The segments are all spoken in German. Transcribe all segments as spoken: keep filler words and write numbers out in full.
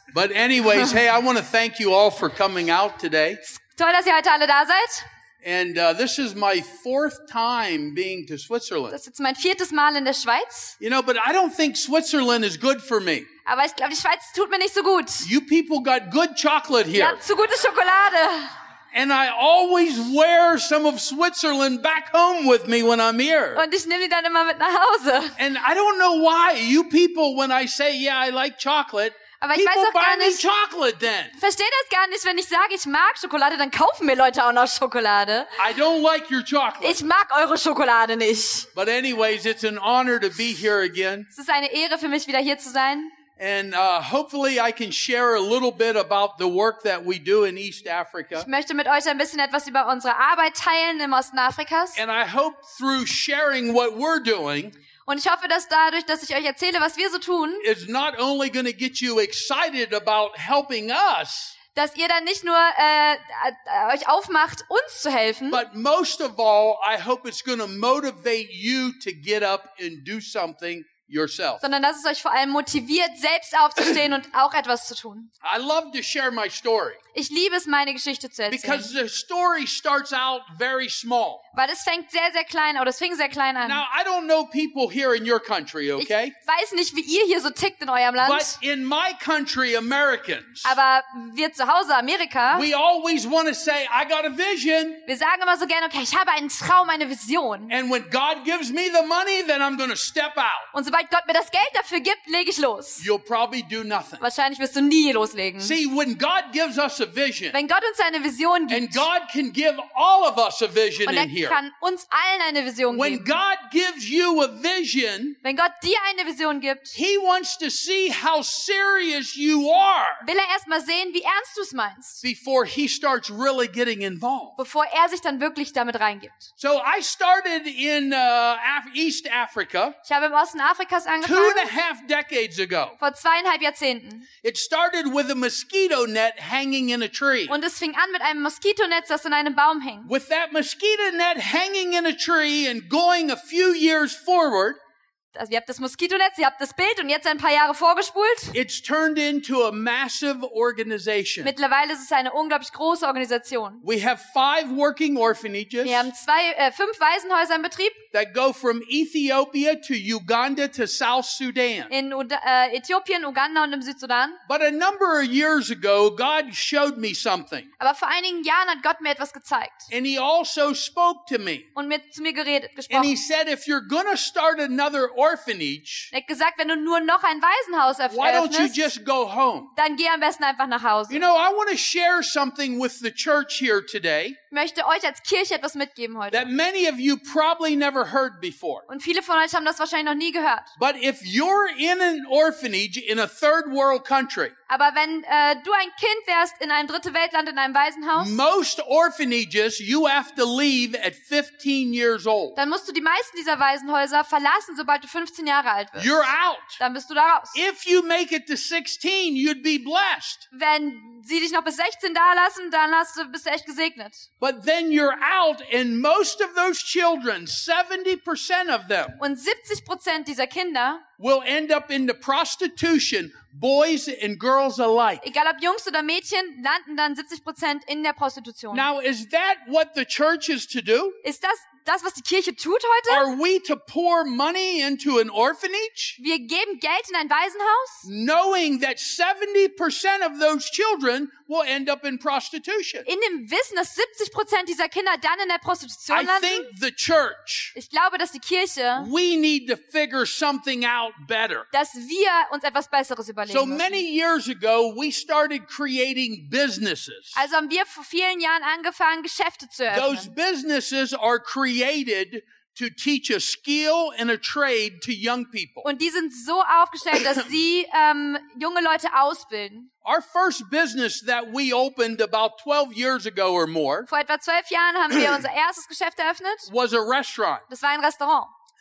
But anyways, hey, I want to thank you all for coming out today. Toll, dass ihr heute alle da seid. And uh, this is my fourth time being to Switzerland. Das ist jetzt mein viertes Mal in der Schweiz. You know, but I don't think Switzerland is good for me. Aber ich glaube, die Schweiz tut mir nicht so gut. You people got good chocolate Ihr here. habt zu gute Schokolade. And I always wear some of Switzerland back home with me when I'm here. Und ich nehme die dann immer mit nach Hause. And I don't know why you people, when I say, yeah, I like chocolate, Aber ich people weiß auch buy gar me nicht, chocolate then. verstehe das gar nicht, wenn ich sage, ich mag Schokolade, dann kaufen mir Leute auch noch Schokolade. I don't like your chocolate. Ich mag eure Schokolade nicht. But anyways, it's an honor to be here again. Es ist eine Ehre für mich, wieder hier zu sein. And uh, hopefully I can share a little bit about the work that we do in East Africa. Ich möchte mit euch ein bisschen etwas über unsere Arbeit teilen im Osten Afrikas. And I hope through sharing what we're doing, Und ich hoffe, dass dadurch, dass ich euch erzähle, was wir so tun, it's not only going to get you excited about helping us, dass ihr dann nicht nur äh, äh, euch aufmacht, uns zu helfen, but most of all, I hope it's going to motivate you to get up and do something yourself. sondern dass es euch vor allem motiviert, selbst aufzustehen und auch etwas zu tun. I love to share my story Ich liebe es, meine Geschichte zu erzählen. because the story starts out very small. Weil es fängt sehr, sehr klein, oder es fing sehr klein an. Now, I don't know people here in your country, Ich okay? weiß nicht, wie ihr hier so tickt in eurem Land, But in my country, Americans, aber wir zu Hause, Amerika, we always want to say, I got a vision. wir sagen immer so gerne, okay, ich habe einen Traum, eine Vision. And when God gives me the money, then I'm going to step out. Und sobald Gott mir das Geld dafür gibt, lege ich los. You'll probably do nothing. Wahrscheinlich wirst du nie loslegen. See, when God gives us a vision, Wenn Gott uns eine Vision and gibt, God can give all of us a vision und in er here. kann uns allen eine Vision When geben. God gives you a vision, Wenn Gott dir eine Vision gibt, He wants to see how serious you are will er erstmal sehen, wie ernst du es meinst, before He starts really getting involved. bevor er sich dann wirklich damit reingibt. So I started in uh, Af- East Africa Ich habe im Osten Afrikas two and angefangen, a half decades ago. vor zweieinhalb Jahrzehnten. It started with a mosquito net hanging in a tree. Und es fing an mit einem Moskitonetz, das in einem Baum hing. With that mosquito net hanging in a tree and going a few years forward, Also ihr habt das Moskitonetz, ihr habt das Bild und jetzt ein paar Jahre vorgespult. it's turned into a massive organization. Mittlerweile ist es eine unglaublich große Organisation. We have five working orphanages Wir haben zwei, äh, fünf Waisenhäuser in Betrieb that go from Ethiopia to Uganda to South Sudan. in Uda äh, Äthiopien, Uganda und im Südsudan. But a number of years ago, God showed me something. Aber vor einigen Jahren hat Gott mir etwas gezeigt And He also spoke to me. und mir, zu mir geredet, And He gesprochen. said, if you're going to start another orphanage, Er hat gesagt, wenn du nur noch ein Waisenhaus erf- why don't you eröffnest, just go home? dann geh am besten einfach nach You Hause. know, I want to share something with the church here today Ich möchte euch als Kirche etwas mitgeben heute. that many of you probably never heard before. Und viele von euch haben das wahrscheinlich noch nie gehört. But if you're in an orphanage in a third world country, Aber wenn äh, du ein Kind wärst in einem dritte Weltland, in einem Waisenhaus, most orphanages you have to leave at fifteen years old. dann musst du die meisten dieser Waisenhäuser verlassen, sobald du fünfzehn Jahre alt wirst. You're out. Dann bist du da raus. If you make it to sixteen, you'd be blessed. Wenn sie dich noch bis sechzehn da lassen, dann hast du, bist du echt gesegnet. But then you're out, and most of those children, seventy percent of them, Und siebzig Prozent dieser Kinder, will end up in the prostitution, boys and girls alike. egal ob Jungs oder Mädchen, landen dann siebzig Prozent in der Prostitution. Now, is that what the church is to do? Ist das das, was die Kirche tut heute? Are we to pour money into an orphanage, Wir geben Geld in ein Waisenhaus, knowing that seventy percent of those children will end up in prostitution? in dem Wissen, dass siebzig Prozent dieser Kinder dann in der Prostitution I think landen? the church, Ich glaube, dass die Kirche, we need to figure something out better. dass wir uns etwas Besseres überlegen So müssen. many years ago, we started creating businesses. Also haben wir vor vielen Jahren angefangen, Geschäfte zu Those eröffnen. businesses are created to teach a skill and a trade to young people. Und die sind so aufgestellt, dass sie ähm, junge Leute ausbilden. Our first business that we opened about twelve years ago or more Vor etwa zwölf Jahren haben wir unser erstes Geschäft eröffnet. was a restaurant. Das war ein Restaurant.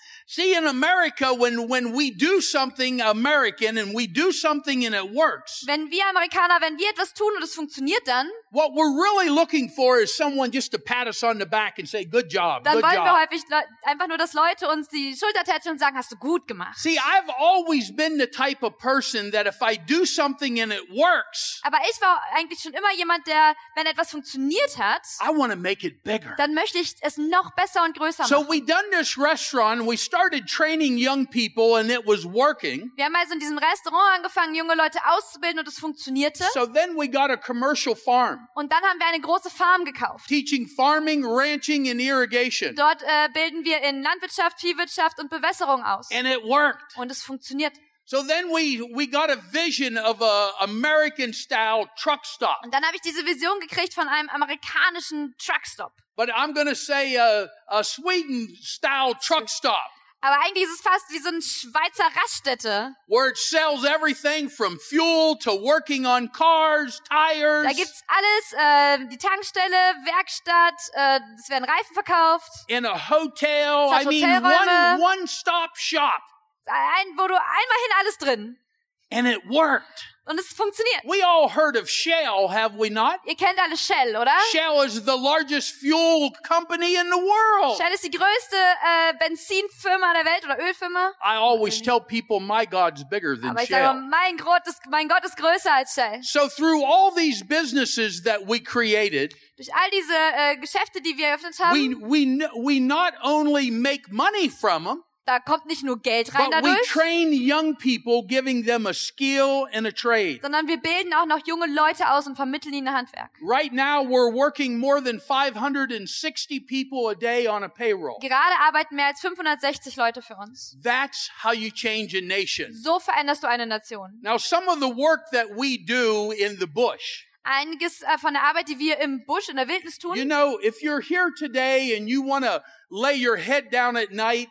See, in America, when, when we do something American and we do something and it works, Wenn wir Amerikaner, wenn wir etwas tun und es funktioniert dann, what we're really looking for is someone just to pat us on the back and say, good job, dann good wollen wir job. häufig le- einfach nur, dass Leute uns die Schulter tätscheln und sagen, hast du gut gemacht. See, I've always been the type of person that if I do something and it works, Aber ich war eigentlich schon immer jemand, der, wenn etwas funktioniert hat, I want to make it bigger. dann möchte ich es noch besser und größer So machen. we done this restaurant and we started training young people and it was working. Wir haben also in diesem Restaurant angefangen, junge Leute auszubilden und es funktionierte. So then we got a commercial farm, Und dann haben wir eine große Farm gekauft. teaching farming, ranching, and irrigation. Dort äh, bilden wir in Landwirtschaft, Viehwirtschaft und Bewässerung aus. And it worked. Und es funktioniert. So then we, we got a vision of a American style truck stop. Und dann habe ich diese Vision gekriegt von einem amerikanischen Truckstop. But I'm going to say a, a Sweden style truck stop Aber eigentlich ist es fast wie so eine Schweizer Raststätte. where it sells everything from fuel to working on cars, tires, Da gibt's alles, äh, die Tankstelle, Werkstatt, äh, es werden Reifen verkauft. in a hotel. Es hat I mean, Hotelräume. one, one stop shop. Ein, wo du einmal hin alles drin. And it worked. Und es funktioniert. We all heard of Shell, have we not? Ihr kennt alle Shell, oder? Shell is the largest fuel company in the world. Shell ist die größte äh, Benzinfirma der Welt oder Ölfirma. I always tell people my God's bigger than Aber ich sage, Shell. mein Gott, ist, mein Gott ist größer als Shell. So through all these businesses that we created, Durch all diese äh, Geschäfte, die wir eröffnet we, haben, we, n- we not only make money from them, da kommt nicht nur Geld rein but we dadurch, train young people, giving them a skill and a trade. sondern wir bilden auch noch junge Leute aus und vermitteln ihnen Handwerk. Right now, we're working more than five hundred sixty people a day on a payroll. Gerade arbeiten mehr als fünfhundertsechzig Leute für uns. That's how you change a nation. So veränderst du eine Nation. Now, some of the work that we do in the bush, Einiges äh, von der Arbeit, die wir im Busch, in der Wildnis tun. you know, if you're here today and you want to lay your head down at night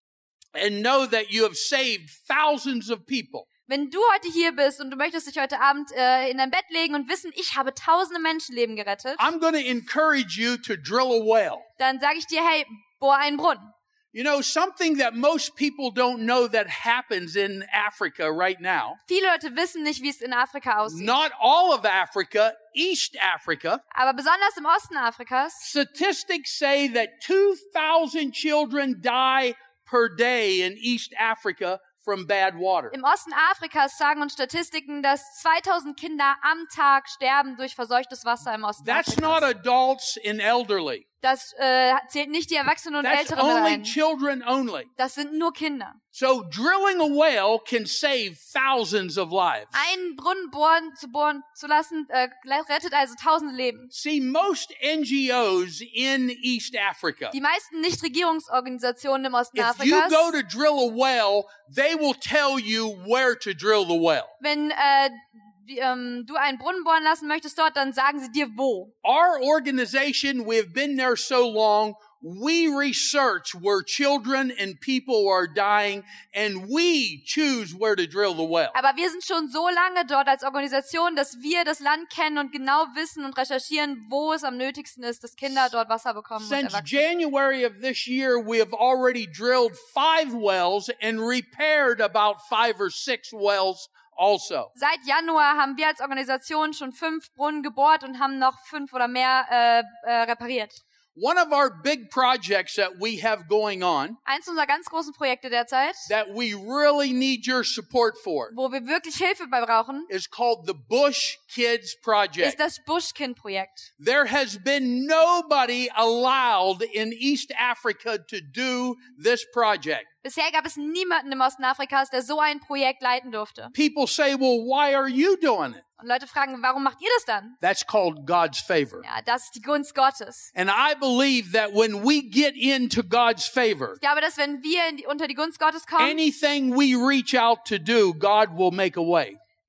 and know that you have saved thousands of people, Wenn du heute hier bist und du möchtest dich heute Abend äh, in dein Bett legen und wissen, ich habe tausende Menschenleben gerettet, I'm going to encourage you to drill a well. dann sage ich dir, hey, bohr einen Brunnen. You know, something that most people don't know that happens in Africa right now, Viele Leute wissen nicht, wie es in Afrika aussieht. not all of Africa, East Africa, Aber besonders im Osten Afrikas, statistics say that two thousand children die per day in East Africa from bad water. im Osten Afrikas sagen uns Statistiken, dass zweitausend Kinder am Tag sterben durch verseuchtes Wasser im Osten That's not Afrikas. adults and elderly. Das äh, zählt nicht die Erwachsenen und That's Älteren mit only ein. children only. Das sind nur Kinder. So drilling a well can save thousands of lives. Einen Brunnen bohren, zu bohren zu lassen, äh, rettet also tausende Leben. See, most N G Os in East Africa, Die meisten Nichtregierungsorganisationen im Osten if you Afrikas, go to drill a well, they will tell you where to drill the well. wenn äh, die, ähm, du einen Brunnen bohren lassen möchtest dort, dann sagen sie dir wo. Our organization, we have been there so long, we research where children and people are dying, and we choose where to drill the well. Aber wir sind schon so lange dort als Organisation, dass wir das Land kennen und genau wissen und recherchieren, wo es am nötigsten ist, dass Kinder dort Wasser bekommen und Since Erwachsene. January of this year, we have already drilled five wells and repaired about five or six wells also. Seit Januar haben wir als Organisation schon fünf Brunnen gebohrt und haben noch fünf oder mehr äh, äh, repariert. One of our big projects that we have going on Eins unserer ganz großen Projekte derzeit, that we really need your support for wo wir wirklich Hilfe bei brauchen, is called the Bush Kids Project. ist das Buschkind-Projekt. There has been nobody allowed in East Africa to do this project. Bisher gab es niemanden im Osten Afrikas, der so ein Projekt leiten durfte. People say, well, why are you doing it? Und Leute fragen, warum macht ihr das dann? That's called God's favor. Ja, das ist die Gunst Gottes. And I believe that when we get into God's favor, Ich glaube, dass wenn wir in die, unter die Gunst Gottes kommen, anything we reach out to do, God will make a way.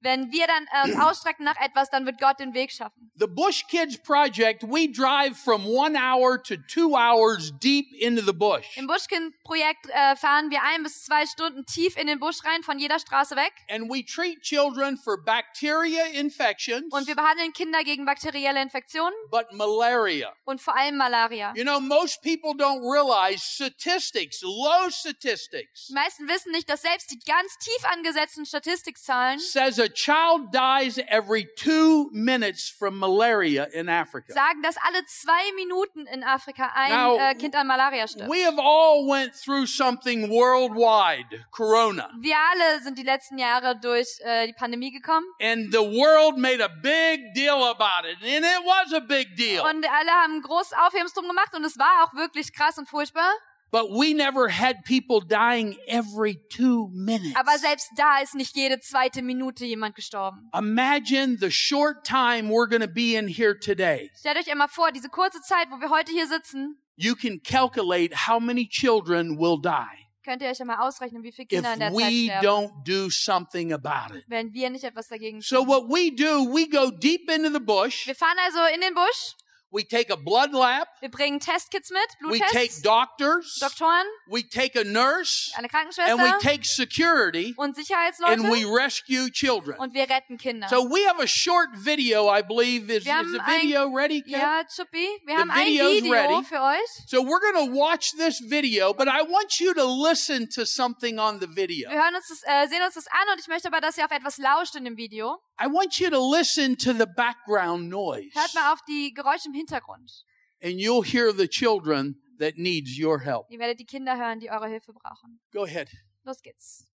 Wenn wir dann äh, uns ausstrecken nach etwas, dann wird Gott den Weg schaffen. The Bush Kids Project, we drive from one hour to two hours deep into the bush. Im Buschkind-Projekt äh, fahren wir ein bis zwei Stunden tief in den Busch rein, von jeder Straße weg. And we treat children for bacteria infections, Und wir behandeln Kinder gegen bakterielle Infektionen but malaria. und vor allem Malaria. You know, most people don't realize statistics, low statistics, Die meisten wissen nicht, dass selbst die ganz tief angesetzten Statistikzahlen says a child dies every two minutes from malaria in Africa. sagen, dass alle zwei Minuten in Afrika ein Now, äh, Kind an Malaria stirbt. We have all went through something worldwide, Corona. Wir alle sind die letzten Jahre durch äh, die Pandemie gekommen And the world made a big deal about it. And it was a big deal. und alle haben groß Aufhebens drum gemacht und es war auch wirklich krass und furchtbar. But we never had people dying every two minutes. Aber selbst da ist nicht jede zweite Minute jemand gestorben. Imagine the short time we're going to be in here today. Stellt euch einmal vor, diese kurze Zeit, wo wir heute hier sitzen, You can calculate how many children will die könnt ihr euch einmal ausrechnen, wie viele if Kinder in der Zeit we sterben, don't do something about it. wenn wir nicht etwas dagegen tun. So what we do, we go deep into the bush. Wir fahren also in den Busch, We take a blood lab. wir bringen Testkits mit, We take Bluttests, doctors. Doktoren, We take a nurse. eine And we Krankenschwester take security. und And we Sicherheitsleute rescue children. und wir retten Kinder. So we have a short video, I believe. Is, Wir haben is the ein- video ready, Kev? Ja, Chuppi, wir The haben ein video's Video ready. für euch. So we're going to watch this video, but I want you to listen to something on the video. Wir hören uns das, äh, sehen uns das an und ich möchte aber, dass ihr auf etwas lauscht in dem Video. I want you to listen to the background noise. Hört mal auf die Geräusche im Hintergrund. And you'll hear the children that needs your help. Ihr werdet die Kinder hören, die eure Hilfe brauchen. Go ahead. Los geht's.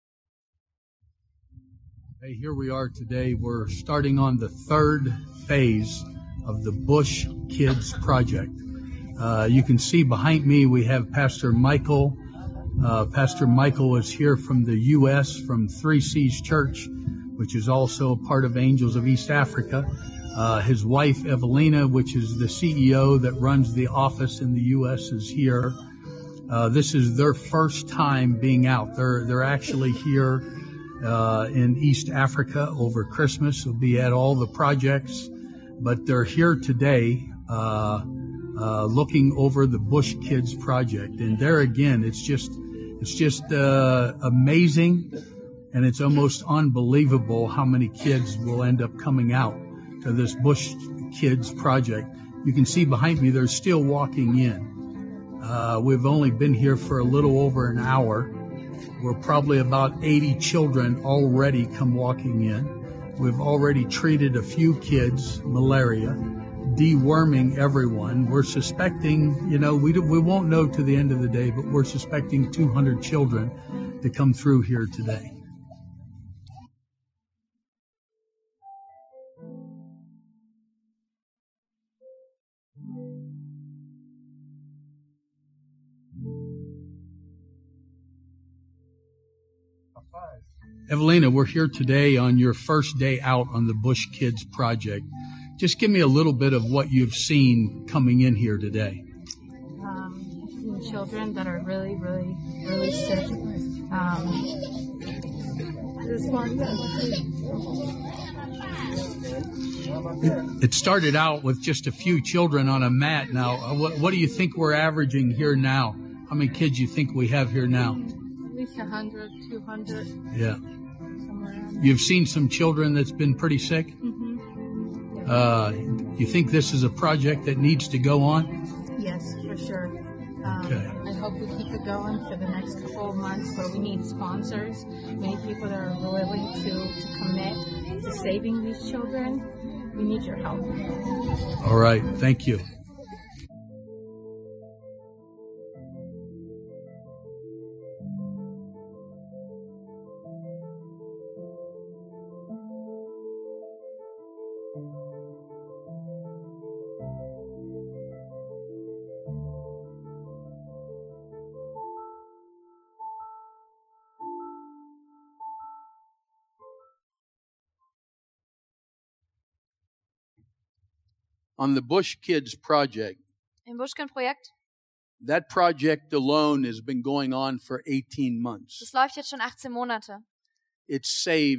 Hey, here we are today. We're starting on the third phase of the Bush Kids Project. Uh, you can see behind me we have Pastor Michael. Uh, Pastor Michael is here from the U S from Three Seas Church, which is also a part of Angels of East Africa. Uh, his wife, Evelina, which is the C E O that runs the office in the U S, is here. Uh, this is their first time being out. They're, they're actually here uh, in East Africa over Christmas. They'll be at all the projects, but they're here today uh, uh, looking over the Bush Kids Project. And there again, it's just, it's just uh, amazing, and it's almost unbelievable how many kids will end up coming out to this Bush Kids Project. You can see behind me, they're still walking in. Uh, we've only been here for a little over an hour. We're probably about eighty children already come walking in. We've already treated a few kids, malaria, deworming everyone. We're suspecting, you know, we, do, we won't know to the end of the day, but we're suspecting two hundred children to come through here today. Evelina, we're here today on your first day out on the Bush Kids Project. Just give me a little bit of what you've seen coming in here today. Um, I've seen children that are really, really, really sick. Um, this one, It started out with just a few children on a mat. Now, uh, what, what do you think we're averaging here now? How many kids do you think we have here now? at least one hundred, two hundred, Yeah. somewhere around. You've seen some children that's been pretty sick? Mm-hmm. Uh, you think this is a project that needs to go on? Yes, for sure. Um, Okay. I hope we keep it going for the next couple of months, but we need sponsors. We need people that are willing to, to commit to saving these children. We need your help. All right. Thank you. On the Bush Kids Project, Im Buschkind-Projekt, that project alone has been going on for eighteen months. das läuft jetzt schon achtzehn Monate. It's saved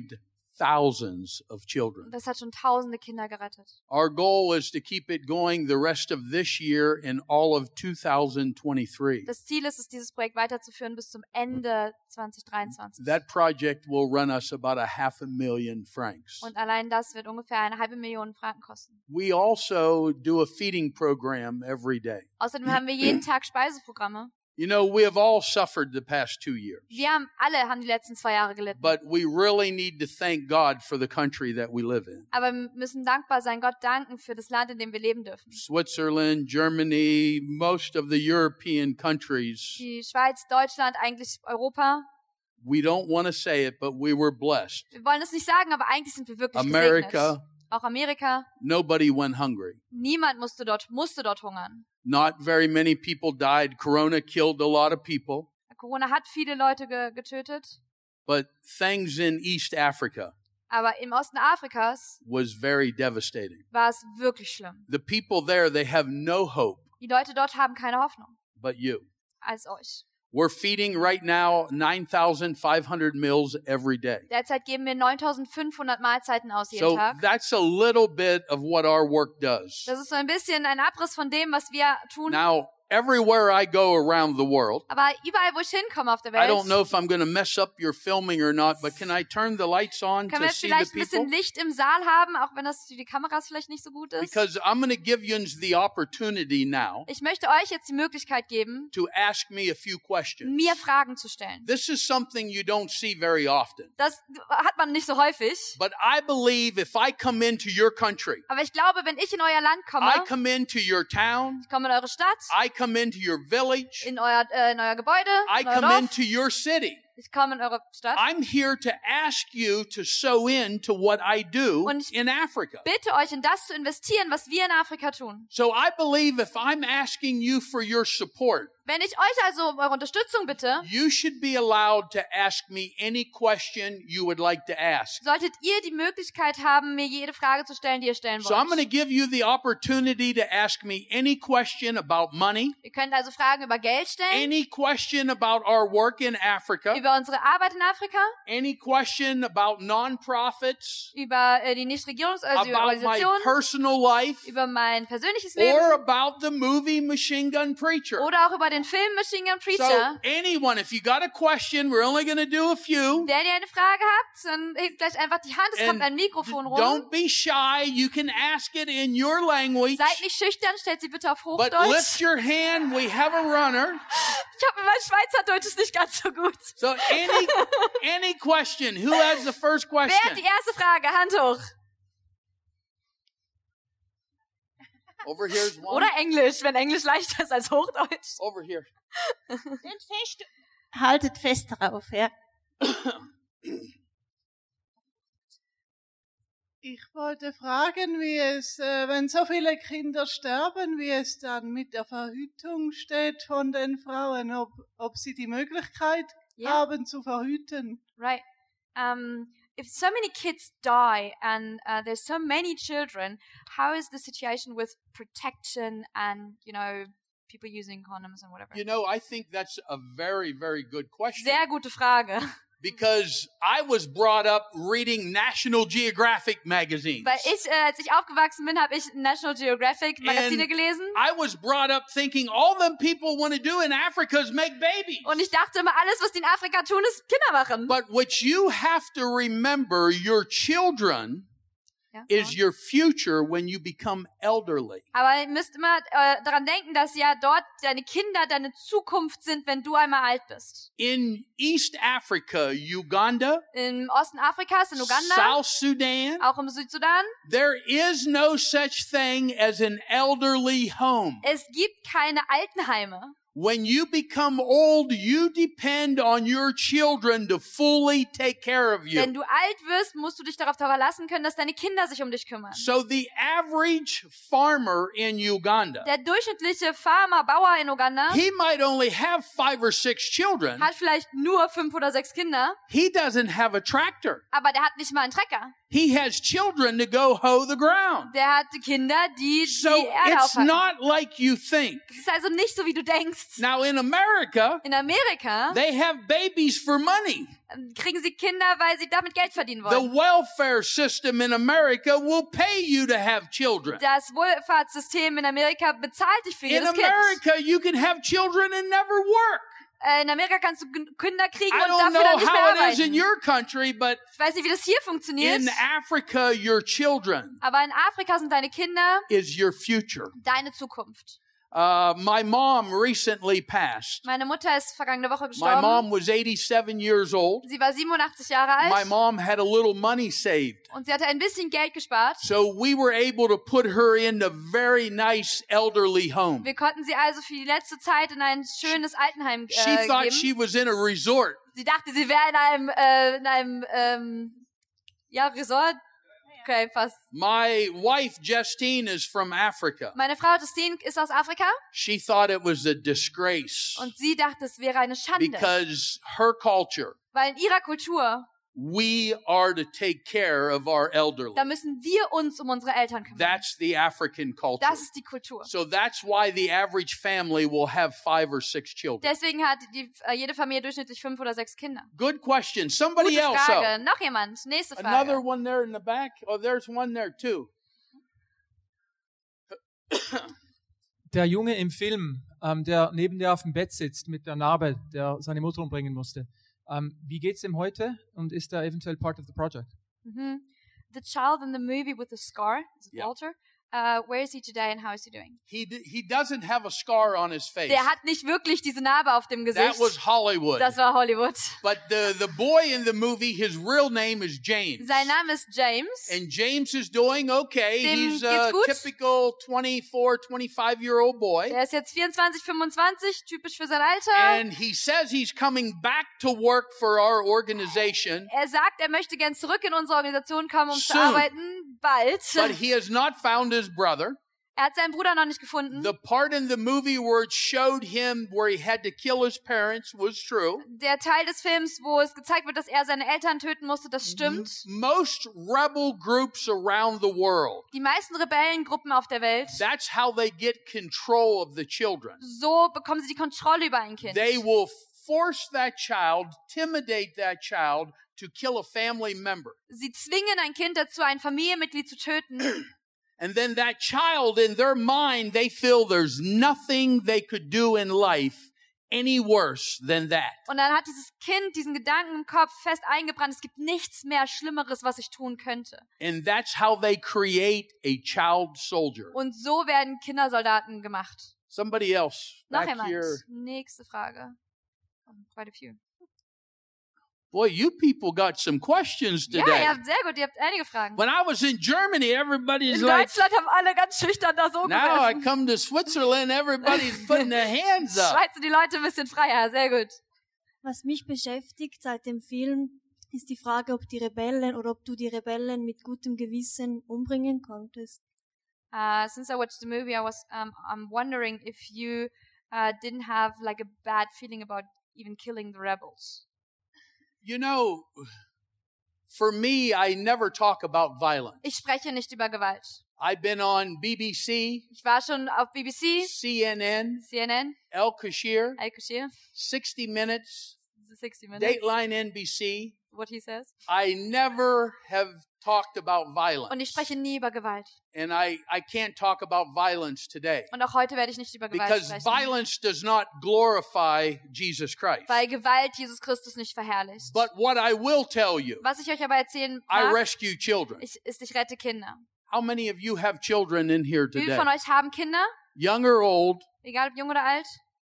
thousands of children. Und das hat schon tausende Kinder gerettet. Our goal is to keep it going the rest of this year and all of two thousand twenty-three. Das Ziel ist es, dieses Projekt weiterzuführen bis zum Ende zwanzig dreiundzwanzig. That project will run us about a half a million francs. Und allein das wird ungefähr eine halbe Million Franken kosten. We also do a feeding program every day. Außerdem haben wir jeden Tag Speiseprogramme. You know, we have all suffered the past two years. Wir haben alle haben die letzten zwei Jahre gelitten. But we really need to thank God for the country that we live in. Aber wir müssen dankbar sein, Gott danken für das Land, in dem wir leben dürfen. Switzerland, Germany, most of the European countries. Die Schweiz, Deutschland, eigentlich Europa. We don't want to say it, but we were blessed. Wir wollen es nicht sagen, aber eigentlich sind wir wirklich America, gesegnet. Auch Amerika. nobody went hungry. Niemand musste dort, musste dort hungern. Not very many people died. Corona killed a lot of people. Corona hat viele Leute ge getötet. But things in East Africa Aber im Osten Afrikas was very devastating. war es wirklich schlimm. The people there, they have no hope Die Leute dort haben keine Hoffnung but you. als euch. We're feeding right now nine thousand five hundred meals every day. Derzeit geben wir neuntausendfünfhundert Mahlzeiten aus jeden So Tag. that's a little bit of what our work does. Das ist so ein bisschen ein Abriss von dem, was wir tun. Now, everywhere I go around the world, Aber überall, wo ich hinkomme auf der I Welt, don't know if I'm going to mess up your filming or not, but can I turn the lights on können to wir see the vielleicht ein people? bisschen Licht im Saal haben, auch wenn das für die Kameras vielleicht nicht so gut ist. Because I'm going to give you the opportunity now Ich möchte euch jetzt die Möglichkeit geben, to ask me a few questions. mir Fragen zu stellen. This is something you don't see very often. Das hat man nicht so häufig. But I believe if I come into your country, Aber ich glaube, wenn ich in euer Land komme, I come into your town, ich komme in eure Stadt, I come into your village, in euer, äh, in euer Gebäude, I in euer come Dorf, into your city. ich komme in eure Stadt. I'm here to ask you to sow into what I do Und ich in Africa. bitte euch, in das zu investieren, was wir in Afrika tun. So I believe if I'm asking you for your support, Wenn ich euch also um eure Unterstützung bitte, you should be allowed to ask me any question you would like to ask. solltet ihr die Möglichkeit haben, mir jede Frage zu stellen, die ihr stellen So I'm going to wollt. give you the opportunity to ask me any question about money, Ihr könnt also Fragen über Geld stellen, any question about our work in Africa, über unsere Arbeit in Afrika, any question about nonprofits, über äh, die Nichtregierungs- also über about my Organisationen, personal life, über mein persönliches Leben or about the movie Machine Gun Preacher. oder auch über den Film Machine Gun So Preacher. anyone, if you got a question, we're only going to do a few. Wenn ihr eine Frage habt, dann hebt gleich einfach die Hand, es And kommt ein Mikrofon rum. Don't be shy. You can ask it in your language. Seid nicht schüchtern, stellt sie bitte auf But Hochdeutsch. lift your hand. We have a runner. Ich habe mein Schweizerdeutsch ist nicht ganz so gut. So any any question. Who has the first Wer hat question? die erste Frage? Hand hoch. Over here's one. Oder Englisch, wenn Englisch leichter ist als Hochdeutsch. Over here. Haltet fest, haltet fest darauf, ja. Ich wollte fragen, wie es, äh, wenn so viele Kinder sterben, wie es dann mit der Verhütung steht von den Frauen, ob, ob sie die Möglichkeit Yeah. haben zu verhüten. Right. Um, if so many kids die and uh, there's so many children, how is the situation with protection and, you know, people using condoms and whatever? You know, I think that's a very, very good question. Sehr gute Frage. Because I was brought up reading National Geographic magazines. Weil ich, äh, als ich aufgewachsen bin, habe ich National Geographic Magazine And gelesen. I was brought up thinking all them people want to do in Africa is make babies. Und ich dachte immer, alles, was die in Afrika tun, ist Kinder machen. But what you have to remember, your children Ja, is your future when you become elderly. aber ihr müsst immer äh, daran denken, dass ja dort deine Kinder deine Zukunft sind, wenn du einmal alt bist. In East Africa, Uganda, Im Osten Afrikas, in Uganda, South Sudan, auch im Südsudan, there is no such thing as an elderly home. es gibt keine Altenheime. When you become old, you depend on your children to fully take care of Wenn you. du alt wirst, musst du dich darauf verlassen können, dass deine Kinder sich um dich kümmern. So the average farmer in Uganda, Der durchschnittliche Farmer, Bauer in Uganda he might only have five or six children. hat vielleicht nur fünf oder sechs Kinder, He doesn't have a tractor. aber der hat nicht mal einen Trecker. He has children to go hoe the ground. Der hat Kinder, die So die Erde it's aufhalten. not like you think. Es ist also nicht so, wie du denkst. Now in America, In Amerika they have babies for money. ähm, kriegen sie Kinder, weil sie damit Geld verdienen The wollen. welfare system in America will pay you to have children. Das Wohlfahrtssystem in Amerika bezahlt dich für In jedes Kind. America, you can have children and never work. Äh, In Amerika kannst du G- Kinder kriegen I und don't dafür know dann nicht mehr how it is in arbeiten. your country, but Ich weiß nicht, wie das hier funktioniert, in Africa, your children aber in Afrika sind deine Kinder is your future. deine Zukunft. Uh, my mom recently passed. Meine Mutter ist vergangene Woche My gestorben. mom was eighty-seven years old. Sie war siebenundachtzig Jahre My alt mom had a little money saved. und sie hatte ein bisschen Geld gespart. So we were able to put her in a very nice elderly home. Wir konnten sie also für die letzte Zeit in ein schönes Altenheim She äh, thought geben. she was in a resort. Sie dachte, sie wäre in einem, äh, in einem, ähm, ja, Resort. Okay, fast. My wife, Justine, is from Africa. Meine Frau Justine ist aus Afrika She thought it was a disgrace und sie dachte, es wäre eine Schande, because her culture, weil in ihrer Kultur, we are to take care of our elderly. da müssen wir uns um unsere Eltern kümmern. That's the African culture. Das ist die Kultur. So that's why the average family will have five or six children. Deswegen hat die, äh, jede Familie durchschnittlich fünf oder sechs Kinder. Good question. Somebody Gute else. Frage. Oh, Noch jemand? Nächste another Frage. one there in the back. Oh, there's one there too. Der Junge im Film, ähm, der neben der auf dem Bett sitzt mit der Narbe, der seine Mutter umbringen musste. Ähm, wie geht's ihm heute und ist er eventuell part of the project? Mhm. The child in the movie with the scar, is it Yeah. Walter? Uh, where is he today and how is he doing? He d- he doesn't have a scar on his face. Der hat nicht wirklich diese Narbe auf dem That Gesicht. was Hollywood. Das war Hollywood. But the the boy in the movie, his real name is James. Sein Name ist James. And James is doing okay. Dem He's geht's a gut. typical twenty-four, twenty-five year old boy. Der ist jetzt vierundzwanzig, fünfundzwanzig, typisch für sein Alter. And he says he's coming back to work for our organization, Er sagt, er möchte gern zurück in unsere Organisation kommen, um zu Soon. arbeiten. Bald. but he has not found his brother. Er hat seinen Bruder noch nicht gefunden. The part in the movie where it showed him where he had to kill his parents was true. Der Teil des Films, wo es gezeigt wird, dass er seine Eltern töten musste, das M- stimmt. Most rebel groups around the world, Die meisten Rebellengruppen auf der Welt, that's how they get control of the children. so bekommen sie die Kontrolle über ein Kind. They will force that child, intimidate that child to kill a family member. Sie zwingen ein Kind dazu, ein Familienmitglied zu töten. And then that child, in their mind, they feel there's nothing they could do in life any worse than that. Und dann hat dieses Kind diesen Gedanken im Kopf fest eingebrannt, es gibt nichts mehr Schlimmeres, was ich tun könnte. And that's how they create a child soldier. Und so werden Kindersoldaten gemacht. Somebody else Noch back jemand? here. Nächste Frage. Oh, quite a few. Boy, you people got some questions Ja, today. ihr habt sehr gut, ihr habt einige Fragen. When I was in Germany, everybody's In like, Deutschland haben alle ganz schüchtern da so now I gesessen. come to Switzerland, everybody's putting their hands up. Schweiz sind die Leute ein bisschen freier, sehr gut. Was mich beschäftigt seit dem Film, ist die Frage, ob die Rebellen oder ob du die Rebellen mit gutem Gewissen umbringen konntest. Uh, since I watched the movie, I was um, I'm wondering if you uh, didn't have like a bad feeling about even killing the rebels. You know, for me, I never talk about violence. Ich spreche nicht über Gewalt. I've been on B B C, Ich war schon auf B B C, C N N, C N N, El Kashir, Al Qashir, sixty minutes, sixty minutes, Dateline N B C. what he says. I never have talked about violence. Und ich spreche nie über Gewalt. And I, I can't talk about violence today. Und auch heute werde ich nicht über Gewalt Because sprechen. violence does not glorify Jesus Christ. Weil Gewalt Jesus Christus nicht verherrlicht. But what I will tell you, Was ich euch aber erzählen I mag, rescue children. ich, ist, ich rette Kinder. How many of you have children in here Wie viele today? von euch haben Kinder? Young or old? Egal ob jung oder alt?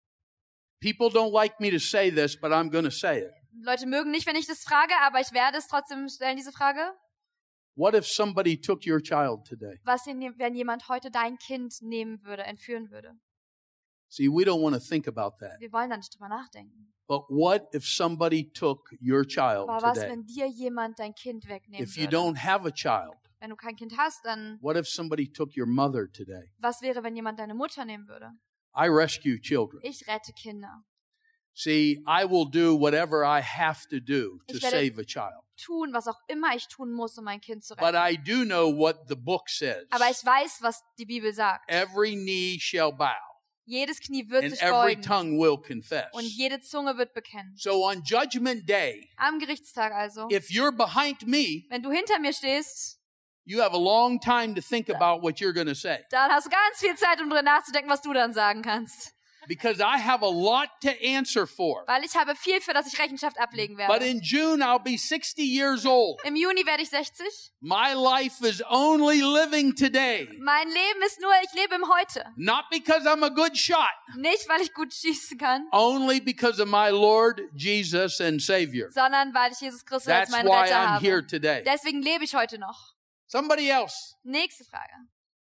People don't like me to say this, but I'm going to say it. Leute mögen nicht, wenn ich das frage, aber ich werde es trotzdem stellen, diese Frage. What if somebody took your child today? Was, wenn jemand heute dein Kind nehmen würde, entführen würde? See, we don't want to think about that. Wir wollen da nicht drüber nachdenken. But what if somebody took your child Aber was, today? wenn dir jemand dein Kind wegnehmen If you würde? don't have a child, Wenn du kein Kind hast, dann what if somebody took your mother today? was wäre, wenn jemand deine Mutter nehmen würde? I rescue children. Ich rette Kinder. See, I will do whatever I have to do to Ich werde save a child. tun, was auch immer ich tun muss, um mein Kind zu But retten. I do know what the book says. Aber ich weiß, was die Bibel sagt. Every knee shall bow, Jedes Knie wird and sich every beugen tongue will confess. und jede Zunge wird bekennen. So on Judgment Day, Am Gerichtstag also, if you're behind me, wenn du hinter mir stehst, you have a long time to think about what you're going to say. dann hast du ganz viel Zeit, um drüber nachzudenken, was du dann sagen kannst. Because I have a lot to answer for. Weil ich habe viel, für das ich Rechenschaft ablegen But werde. in June, I'll be sixty years old. Im Juni werde ich sechzig. My life is only living today. Mein Leben ist nur, ich lebe im Heute. Not because I'm a good shot. Nicht, weil ich gut schießen kann, Only because of my Lord Jesus and Savior. sondern weil ich Jesus Christus als That's meinen why Retter I'm here habe. today. Deswegen lebe ich heute noch. Somebody else. Nächste Frage.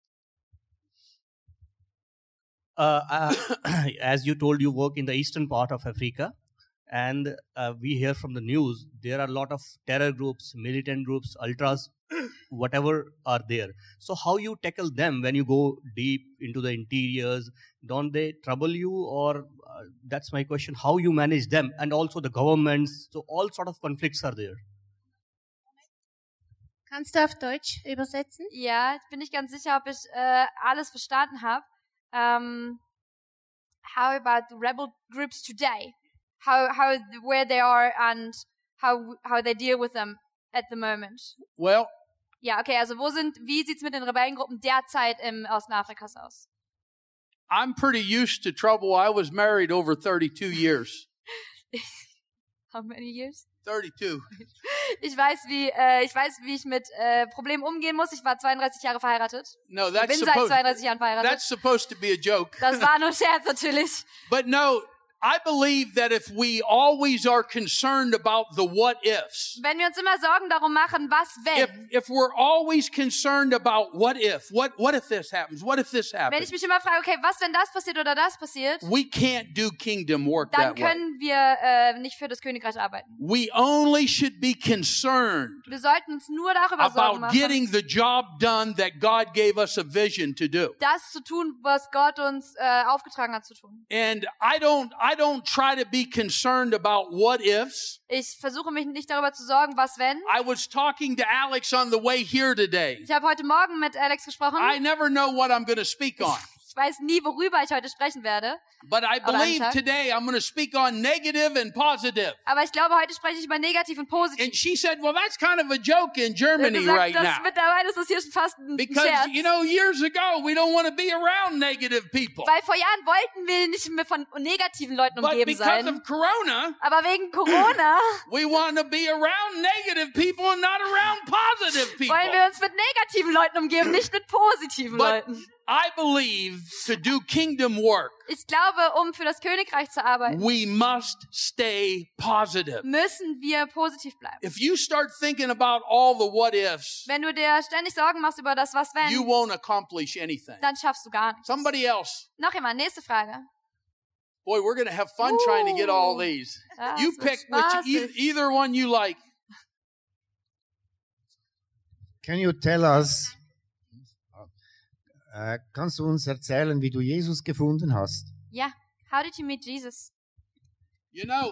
Uh, uh, as you told, you work in the eastern part of Africa, and uh, we hear from the news there are a lot of terror groups, militant groups, ultras, whatever are there. So how you tackle them when you go deep into the interiors? Don't they trouble you, or uh, that's my question? How you manage them, and also the governments? So all sort of conflicts are there. Kannst du auf Deutsch übersetzen? Ja, ich bin nicht ganz sicher, ob ich äh, alles verstanden habe. Um, how about the rebel groups today? How how where they are and how how they deal with them at the moment? Well, Ja, okay, also wo sind, wie sieht's mit den Rebellengruppen derzeit im Osten Afrikas aus? I'm pretty used to trouble. I was married over thirty-two years. How many years? thirty-two. Ich weiß, wie äh, ich weiß, wie ich mit äh, Problemen umgehen muss. Ich war zweiunddreißig Jahre verheiratet. No, Ich that's bin seit supposed zweiunddreißig Jahren verheiratet. that's supposed to be a joke. Das war nur Scherz natürlich. But no, I believe that if we always are concerned about the what ifs, Wenn wir uns immer Sorgen darum machen, was if wenn, if we're always concerned about what if, what what if this happens, what if this wenn happens, ich mich immer frage, okay, was wenn das passiert oder das passiert, we can't do kingdom work dann that way. können wir äh, nicht für das Königreich arbeiten. We only should be concerned Wir sollten uns nur darüber Sorgen about machen, getting the job done that God gave us a vision to do. das zu tun, was Gott uns äh, aufgetragen hat zu tun. And I don't I don't try to be concerned about what ifs. Ich versuche mich nicht darüber zu sorgen, was wenn. I was talking to Alex on the way here today. Ich habe heute Morgen mit Alex gesprochen. I never know what I'm going to speak on. Ich weiß nie, worüber ich heute sprechen werde. But I Aber believe Tag. today I'm going to speak on negative and positive. Aber ich glaube, heute spreche ich über negativ und positiv. And she said, well, that's kind of a joke in Ich habe Germany gesagt, right das, now. mittlerweile ist das hier schon fast ein Because, Scherz. you know, years ago, we don't want to be around negative people. Weil vor Jahren wollten wir nicht mehr von negativen Leuten But umgeben because sein. of Corona, Aber wegen Corona we want to be around negative people and not around positive people. wollen wir uns mit negativen Leuten umgeben, nicht mit positiven But Leuten. I believe to do kingdom work, Ich glaube, um für das Königreich zu arbeiten, we must stay positive. müssen wir positiv bleiben. If you start thinking about all the what ifs, Wenn du dir ständig Sorgen machst über das, was you wenn, won't accomplish anything. dann schaffst du gar nichts. Somebody else. Noch jemand, nächste Frage. Boy, we're going to have fun trying to get all these. Das You wird pick which, e- spaßig. either one you like. Can you tell us, äh, kannst du uns erzählen, wie du Jesus gefunden hast? Ja, how did you meet Jesus? You know,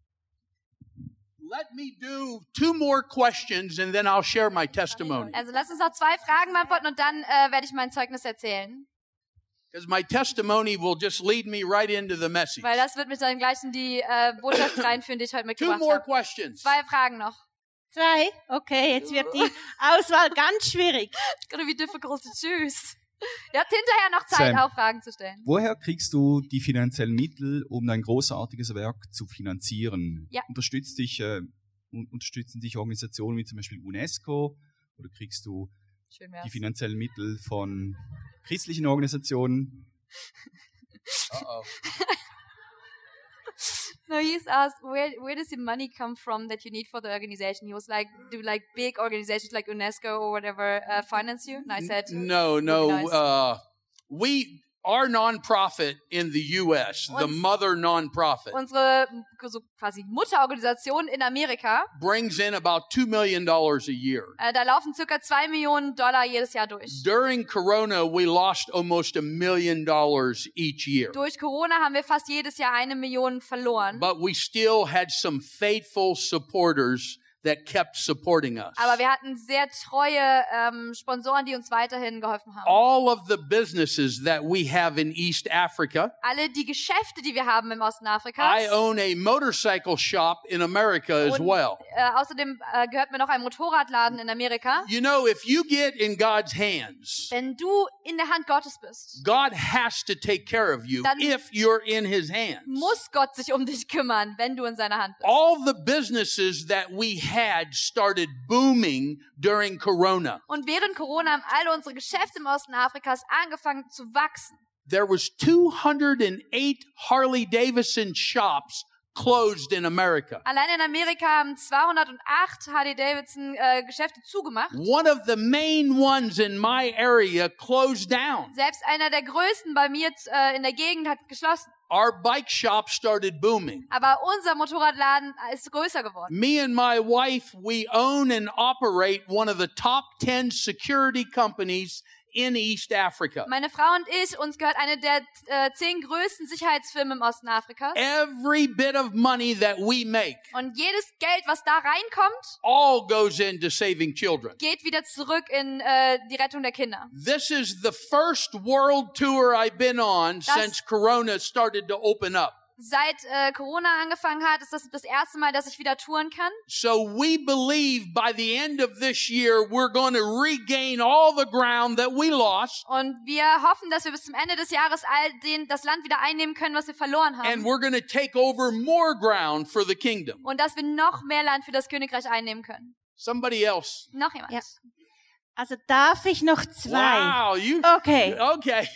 let me do two more questions and then I'll share my testimony. Also lass uns noch zwei Fragen beantworten und dann äh, werde ich mein Zeugnis erzählen. Because my testimony will just lead me right into the message. Weil das wird mich dann gleich in die äh, Botschaft reinführen, die ich heute Two mitgebracht more habe. questions. Zwei Fragen noch. Zwei? Okay, jetzt wird die Auswahl ganz schwierig. It's gonna be difficult to choose. Ihr habt hinterher noch Zeit, Sam. auch Fragen zu stellen. Woher kriegst du die finanziellen Mittel, um dein großartiges Werk zu finanzieren? Ja. Unterstützt dich, äh, un- unterstützen dich Organisationen wie zum Beispiel UNESCO oder kriegst du Schön die wär's. finanziellen Mittel von christlichen Organisationen? Uh-oh. No, he's asked, where where does the money come from that you need for the organization? He was like, do like big organizations like UNESCO or whatever uh, finance you? And I said, No, no. Nice. Uh, we Our nonprofit in the U S, the Uns- mother nonprofit, Unsere so quasi Mutterorganisation in Amerika, brings in about two million dollars a year. äh, da laufen circa zwei Millionen Dollar jedes Jahr durch. During Corona, we lost almost a million dollars each year. Durch Corona haben wir fast jedes Jahr eine Million verloren. But we still had some faithful supporters that kept supporting us. Aber wir hatten sehr treue ähm, Sponsoren, die uns weiterhin geholfen haben. All of the businesses that we have in East Africa. Alle die Geschäfte, die wir haben im Osten I Afrikas. own a motorcycle shop in America as Und, well. äh, außerdem äh, gehört mir noch ein Motorradladen in Amerika. You know, if you get in God's hands, Wenn du in der Hand Gottes bist, God has to take care of you Dann if you're in His hands. muss Gott sich um dich kümmern, wenn du in seiner Hand bist. All the businesses that we had started booming during Corona. Und während Corona haben alle unsere Geschäfte im Osten Afrikas angefangen zu wachsen. There was two hundred eight Harley Davidson shops closed in America. Allein in Amerika haben zweihundertacht Harley Davidson äh, Geschäfte zugemacht. One of the main ones in my area closed down. Selbst einer der größten bei mir äh, in der Gegend hat geschlossen. Our bike shop started booming. Aber unser Motorradladen ist größer geworden. Me and my wife, we own and operate one of the top ten security companies in East Africa. Meine Frau und ich, uns gehört eine der äh, zehn größten Sicherheitsfirmen im Osten Afrikas. Every bit of money that we make, Und jedes Geld, was da reinkommt, all goes into saving children. geht wieder zurück in äh, die Rettung der Kinder. This is the first world tour I've been on Das- since Corona started to open up. Seit äh, Corona angefangen hat, ist das das erste Mal, dass ich wieder touren kann. So we believe by the end of this year, we're going to regain all the ground that we lost. Und wir hoffen, dass wir bis zum Ende des Jahres all den, das Land wieder einnehmen können, was wir verloren And haben. we're going to take over more ground for the kingdom. Und dass wir noch mehr Land für das Königreich einnehmen können. Somebody else. Noch jemand? Ja. Also darf ich noch zwei? Wow, you Okay. okay.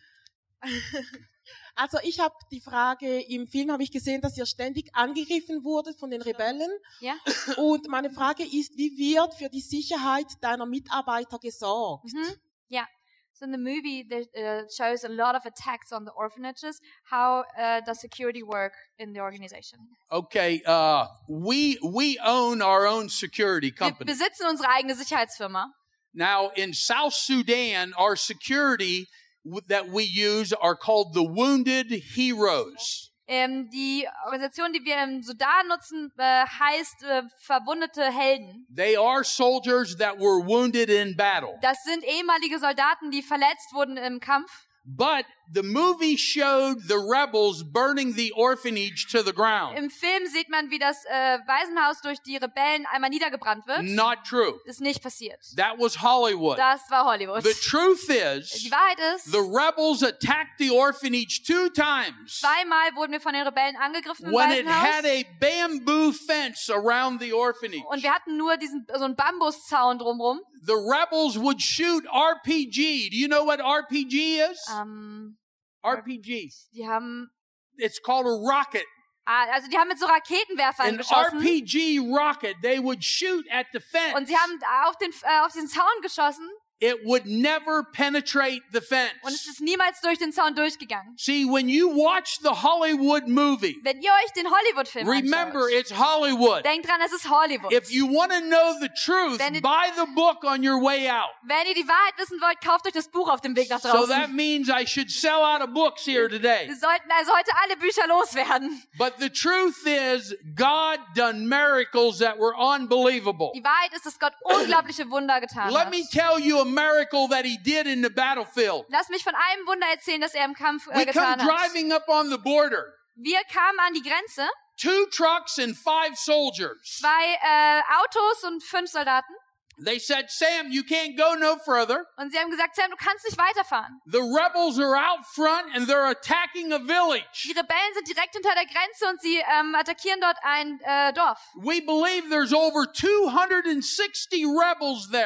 Also ich habe die Frage, im Film habe ich gesehen, dass ihr ständig angegriffen wurde von den Rebellen. Ja. Und meine Frage ist, wie wird für die Sicherheit deiner Mitarbeiter gesorgt? Mhm. Ja. So in the movie, there uh, shows a lot of attacks on the orphanages. How uh, does security work in the organization? Okay, uh we we own our own security Wir company. besitzen unsere eigene Sicherheitsfirma. Now in South Sudan, our security w- that we use are called the Wounded Heroes. Ähm, die Organisation, die wir im Sudan nutzen, äh, heißt äh, Verwundete Helden. They are soldiers that were wounded in battle. Das sind ehemalige Soldaten, die verletzt wurden im Kampf. But the movie showed the rebels burning the orphanage to the ground. Im Film sieht man, wie das äh, Waisenhaus durch die Rebellen einmal niedergebrannt wird. Not true. Ist nicht passiert. That was Hollywood. Das war Hollywood. The truth is, Die Wahrheit ist, the rebels attacked the orphanage two times zweimal wurden wir von den Rebellen angegriffen im when it had Waisenhaus. a bamboo fence around the orphanage. Und wir hatten nur diesen so einen Bambuszaun drumherum. The rebels would shoot R P G. Do you know what R P G is? Ähm, R P G. die haben, It's called a rocket. ah, also die haben mit so Raketenwerfern An geschossen. R P G rocket. They would shoot at the fence. Und sie haben auf den äh, auf diesen Zaun geschossen. It would never penetrate the fence. Und es ist niemals durch den Zaun durchgegangen. See, when you watch the Hollywood movie, Wenn ihr euch den Hollywood-Film remember anschaut, it's Hollywood. denkt dran, es ist Hollywood. If you want to know the truth, Wenn ihr- buy the book on your way out. Wenn ihr die Wahrheit wissen wollt, kauft euch das Buch auf dem Weg nach So draußen. that means I should sell out of books here today. Wir sollten also heute alle Bücher loswerden. But the truth is, God done miracles that were unbelievable. Die Wahrheit ist, dass Gott unglaubliche Wunder getan Let hat. me tell you a miracle that he did in the battlefield. Lass mich von einem Wunder erzählen, das er im Kampf äh, We come getan hat. driving up on the border. Wir kamen an die Grenze, Two trucks and five soldiers. zwei äh, Autos und fünf Soldaten. They said, Sam, you can't go no further. Und sie haben gesagt, Sam, du kannst nicht weiterfahren. The rebels are out front and they're attacking a Die village. Rebellen sind direkt hinter der Grenze und sie ähm, attackieren dort ein äh, Dorf. We believe there's over two hundred sixty rebels there.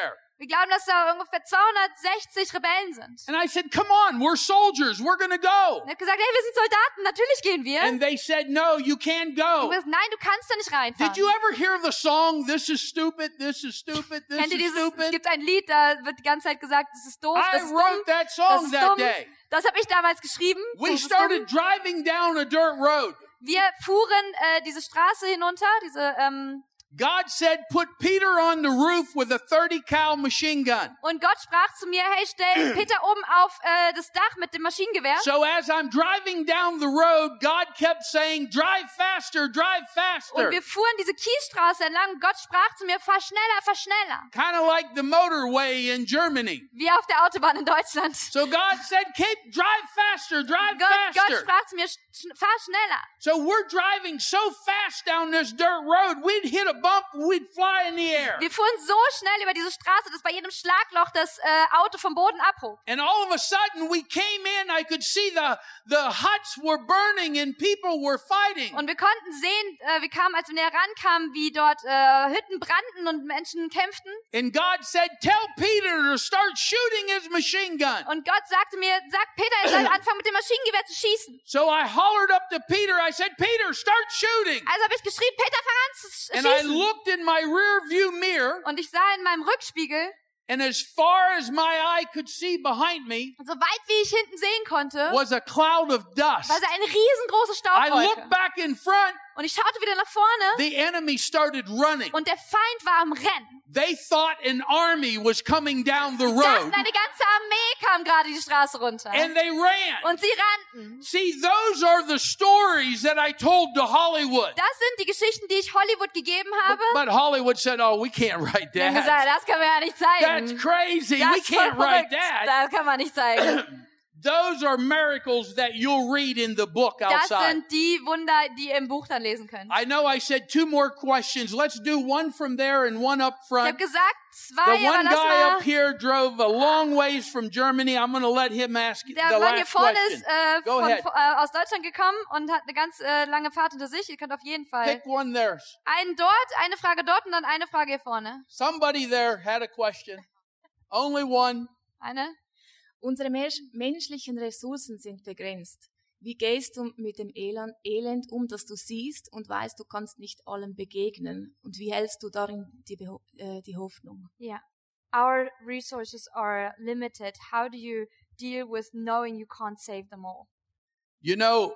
Wir glauben, dass da ungefähr zweihundertsechzig Rebellen sind. And I said, come on, we're soldiers, we're gonna go. Und er hat gesagt, hey, wir sind Soldaten, natürlich gehen wir. And they said, no, you can't Und go. wir gesagt, nein, du kannst da nicht reinfahren. Did you ever hear the song, this is stupid, this is stupid, this Kennt ihr is dieses, es stupid? gibt ein Lied, da wird die ganze Zeit gesagt, das ist doof, I das ist dumm, wrote that das song ist that dumm. day. Das habe ich damals geschrieben. We Das ist started dumm. driving down a dirt road. Wir fuhren äh, diese Straße hinunter, diese ähm, God said, put Peter on the roof with a thirty cal machine gun. und Gott sprach zu mir, hey, stell Peter oben auf äh, das Dach mit dem Maschinengewehr. So as I'm driving down the road, God kept saying, drive faster, drive faster. Und wir fuhren diese Kiesstraße entlang. Gott sprach zu mir, fahr schneller, fahr schneller. Kind of like the motorway in Germany. Wie auf der Autobahn in Deutschland. So God said, keep, drive faster, drive Gott, Gott faster. sprach zu mir, sch- fahr schneller. So we're driving so fast down this dirt road, we'd hit a bump, we'd fly in the air. Wir fuhren so schnell über diese Straße, dass bei jedem Schlagloch das äh, Auto vom Boden abhob. And all of a sudden we came in, I could see the, the huts were burning and people were fighting. Und wir konnten sehen, äh, wir kamen, als wir näher rankamen, wie dort äh, Hütten brannten und Menschen kämpften. And God said, tell Peter to start shooting his machine gun. Und Gott sagte mir, sag Peter, er soll anfangen mit dem Maschinengewehr zu schießen. So I hollered up to Peter, I said, Peter, start shooting. Also habe ich geschrien, Peter, fang an zu sch- And I schießen. looked in my rear view mirror, Und ich sah in meinem Rückspiegel, and as far as my eye could see behind me so weit wie ich hinten sehen konnte, was a cloud of dust. war es eine riesengroße I Staubwolke. looked back in front, Und ich schaute wieder nach vorne the enemy started running. und der Feind war am Rennen. They thought an army was coming down the Sie dachten, road, eine ganze Armee kam gerade die Straße runter. and they ran. Und sie rannten. See, those are the stories that I told to Hollywood. Das sind die Geschichten, die ich Hollywood gegeben But, habe. but Hollywood said, oh, we can't write Die haben gesagt, that. das können wir ja nicht zeigen. That's crazy. Das We ist voll can't write verrückt. that. Das kann man nicht zeigen. Those are miracles that you'll read in the book Das outside. sind die Wunder, die ihr im Buch dann lesen könnt. I know I said two more questions. Let's do one from there and one up Ich front. habe gesagt, The zwei, aber one lass guy mal. up here drove a long ways from Germany. I'm going to let him ask the Der Mann hier last vorne question. ist äh, Go von, ahead. äh, aus Deutschland gekommen und hat eine ganz äh, lange Fahrt hinter sich. Ihr könnt auf jeden Fall Pick one there. einen dort, eine Frage dort und dann eine Frage hier vorne. Somebody there had a question. Only one. Eine? Unsere mensch- menschlichen Ressourcen sind begrenzt. Wie gehst du mit dem Elend, Elend um, das du siehst und weißt, du kannst nicht allem begegnen? Und wie hältst du darin die, Beho äh, die Hoffnung? Yeah. Our resources are limited. How do you deal with knowing you can't save them all? You know,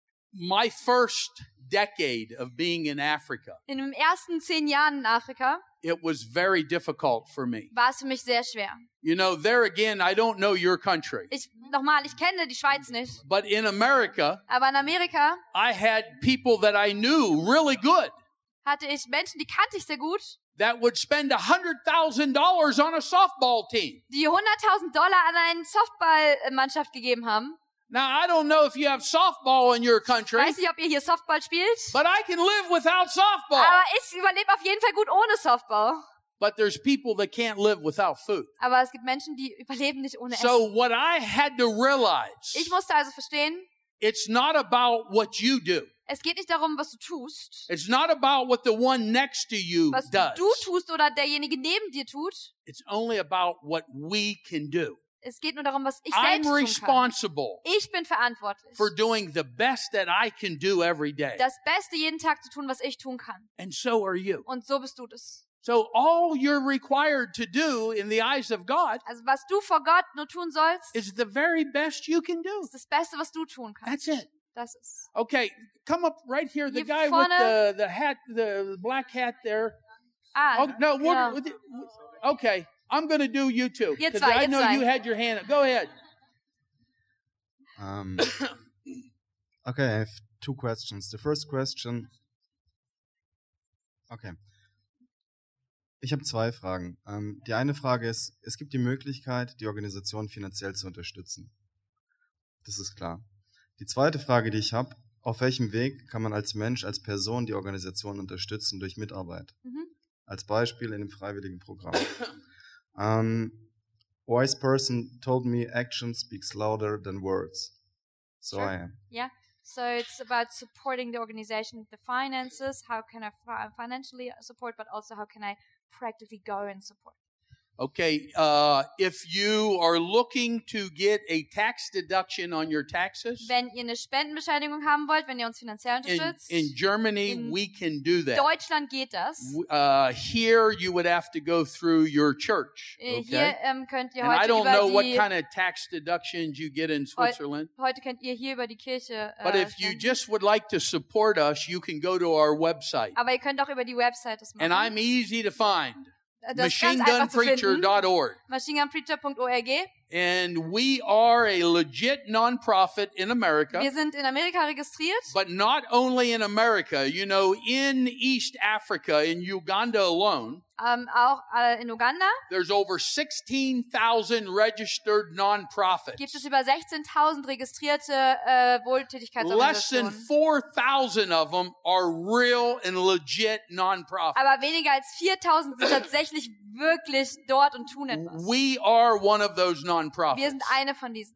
my first decade of being in Africa, In den ersten zehn Jahren in Afrika it was very difficult for me. war es für mich sehr schwer. You know, there again, I don't know your country, Ich, nochmal, ich kenne die Schweiz nicht. but in America, Aber in Amerika I had people that I knew really good hatte ich Menschen, die kannte ich sehr gut, that would spend one hundred thousand dollars on a softball team. die hunderttausend Dollar an eine Softballmannschaft gegeben haben. Now, I don't know if you have softball in your Ich country, weiß nicht, ob ihr hier Softball spielt, but I can live without softball. aber ich überlebe auf jeden Fall gut ohne Softball. But there's people that can't live without food. Aber es gibt Menschen, die überleben nicht ohne So Essen. what I had to realize, Ich musste also verstehen, it's not about what you do. es geht nicht darum, was du tust, It's not about what the one next to you was does. du tust oder derjenige neben dir tut. It's only about what we can do. Es geht nur darum, was ich I'm selbst tun kann. responsible Ich bin verantwortlich, for doing the best that I can do every day. das Beste jeden Tag zu tun, was ich tun kann. And so are you. Und so bist du das. So all you're required to do in the eyes of God Also was du vor Gott nur tun sollst, is the very best you can do. ist das Beste, was du tun kannst. That's it. Das ist. Okay, come up right here. The Hier guy with vorne. the, the hat, the black hat there. Ah, Oh, no, genau. what, okay. I'm going to do you too. Ihr 'cause zwei, I ihr know zwei. you had your hand up. Go ahead. Um, okay, I have two questions. The first question. Okay. Ich habe zwei Fragen. Ähm, die eine Frage ist, es gibt die Möglichkeit, die Organisation finanziell zu unterstützen. Das ist klar. Die zweite Frage, die ich habe, auf welchem Weg kann man als Mensch, als Person die Organisation unterstützen durch Mitarbeit? Mhm. Als Beispiel in dem freiwilligen Programm. Um, wise person told me action speaks louder than words. So Sure. I am. Yeah. So it's about supporting the organization with the finances. How can I fi- financially support, but also how can I practically go and support? Okay, uh, if you are looking to get a tax deduction on your taxes, Wenn ihr eine Spendenbescheinigung haben wollt, wenn ihr uns finanziell in, unterstützt, in Germany, in we can do that. Deutschland geht das. W- Uh, here, you would have to go through your church. Äh, Okay? Hier ähm, könnt ihr And I heute don't know über what die, kind of tax deductions you get in heu, Switzerland. heute könnt ihr hier über die Kirche But äh, if you spenden. just would like to support us, you can go to our website. Aber ihr könnt auch über die Website das machen. And I'm easy to find. Das ist ganz einfach zu machine gun preacher finden. dot org. machine gun preacher dot org. And we are a legit nonprofit in America. Wir sind in Amerika registriert. But not only in America, you know, in East Africa, in Uganda alone, Ähm, auch äh, in Uganda there's over sixteen thousand registered nonprofits. gibt es über sechzehntausend registrierte äh, Less than Wohltätigkeitsorganisationen. four thousand of them are real and legit nonprofits. Aber weniger als viertausend sind tatsächlich wirklich dort und tun etwas. We are one of those Wir nonprofits. sind eine von diesen.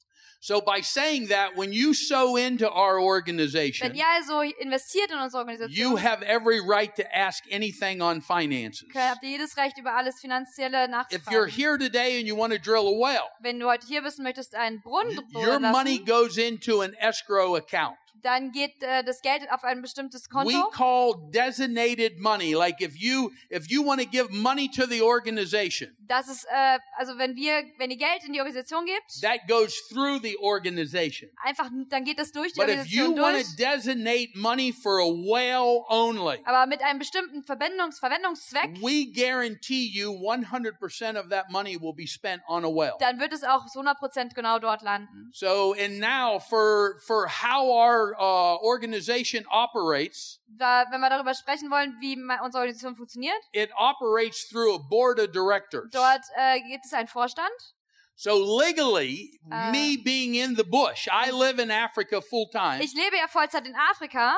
So by saying that, when you sow into our Wenn organization, ihr also investiert in unsere you Organisation, have every right to ask anything on finances. habt ihr jedes Recht, über alles Finanzielle If you're nachzufragen. here today and you want to drill a well, Wenn du heute hier bist und möchtest einen Brunnen your bohren money lassen, goes into an escrow account. dann geht äh, das Geld auf ein bestimmtes We Konto. call designated money. Like if you if you want to give money to the organization, Das ist, äh, also wenn wir, wenn ihr Geld in die Organisation gebt, that goes through the organization. einfach, dann geht das durch die But if you Organisation want durch. to designate money for a well only, Aber mit einem bestimmten Verbindungs Verwendungszweck, we guarantee you one hundred percent of that money will be spent on a well. dann wird es auch zu hundert Prozent genau dort landen. So, and now for for how our uh, organization operates, Da, wenn wir darüber sprechen wollen, wie ma- unsere Organisation funktioniert, it operates through a board of directors. dort äh, gibt es einen Vorstand. So legally, Uh, me being in the bush, I live in Africa full time. Ich lebe ja Vollzeit in Afrika.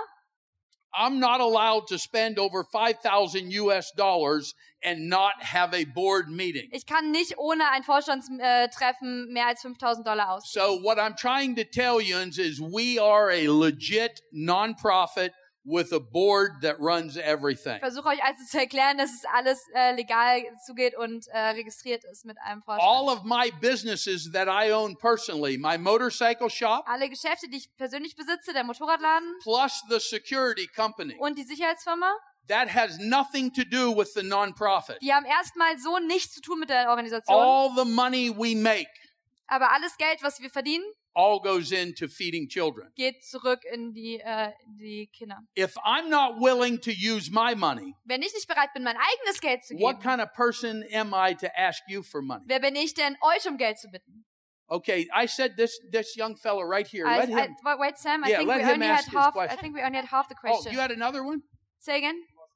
I'm not allowed to spend over five thousand U S dollars and not have a board meeting. Ich kann nicht ohne ein Vorstandstreffen mehr als fünftausend Dollar ausgeben. So what I'm trying to tell you is we are a legit nonprofit with a board that runs everything. Ich versuche euch also zu erklären, dass es alles äh, legal zugeht und äh, registriert ist mit einem Vorstand. All of my businesses that I own personally, my motorcycle shop, Alle Geschäfte, die ich persönlich besitze, der Motorradladen plus the security company, und die Sicherheitsfirma, that has nothing to do with the nonprofit. die haben erstmal so nichts zu tun mit der Organisation. All the money we make Aber alles Geld, was wir verdienen, all goes into feeding children. geht zurück in die, äh, die Kinder. If I'm not willing to use my money, Wenn ich nicht bereit bin, mein eigenes Geld zu what geben, kind of person am I to ask you for money? wer bin ich denn, euch um Geld zu bitten? Okay, I said this this young fella right here. I, Let I, him. wait, wait, Sam, I Yeah, think let we him only ask had his half. I question. think we only had half the Oh, question. you had another one? Say again.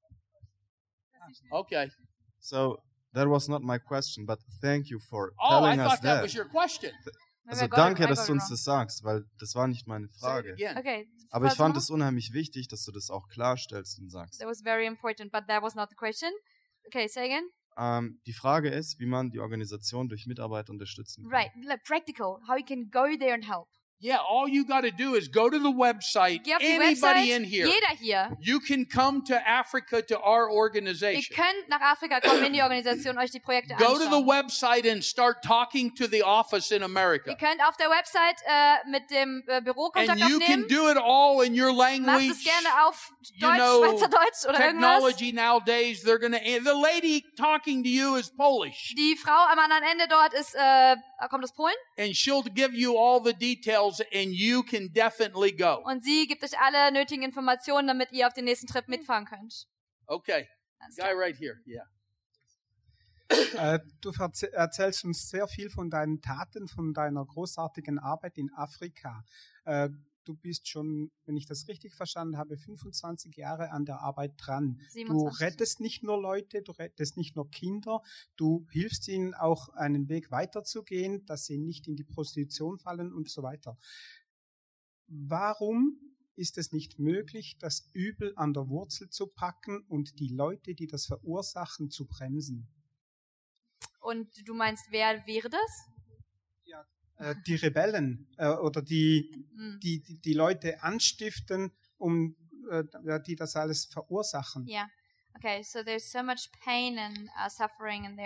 Okay. So that was not my question, but thank you for Oh, I telling us thought that that. was your question. Also Maybe I got danke, it- I dass got du it uns wrong. das sagst, weil das war nicht meine Say it Frage. again. Okay. Aber ich versuch fand mal. es unheimlich wichtig, dass du das auch klarstellst und sagst. That was very important, but that was not the question. Okay, say again. Ähm, die Frage ist, wie man die Organisation durch Mitarbeiter unterstützen kann. Right, like practical, how you can go there and help. Yeah, all you got to do is go to the website. Geh auf die Anybody Website, in here. jeder hier. You can come to Africa to our Ihr organization. könnt nach Afrika kommen in die Organisation, euch die Projekte Go to the anschauen. website and start talking to the office in Ihr America. könnt auf der Website äh, mit dem äh, Büro And Kontakt you can aufnehmen. do it all in your Macht language. es gerne auf You Deutsch, know, Schweizerdeutsch oder irgendwas. technology nowadays, they're going to, the lady talking to you is Polish. Die Frau am anderen Ende dort ist, äh, kommt aus Polen And she'll give you all the details and you can definitely go. und sie gibt euch alle nötigen Informationen, damit ihr auf den nächsten Trip mitfahren könnt. Okay. Guy right here. Yeah. Äh, du verze- erzählst uns sehr viel von deinen Taten, von deiner großartigen Arbeit in Afrika. Äh, du bist schon, wenn ich das richtig verstanden habe, fünfundzwanzig Jahre an der Arbeit dran. Du siebenundzwanzig. rettest nicht nur Leute, du rettest nicht nur Kinder, du hilfst ihnen auch einen Weg weiterzugehen, dass sie nicht in die Prostitution fallen und so weiter. Warum ist es nicht möglich, das Übel an der Wurzel zu packen und die Leute, die das verursachen, zu bremsen? Und du meinst, wer wäre das? Äh, die Rebellen äh, oder die, Mm. die, die, die Leute anstiften, um, äh, ja, die das alles verursachen. Yeah. Okay, so there's so much pain and uh, suffering in there.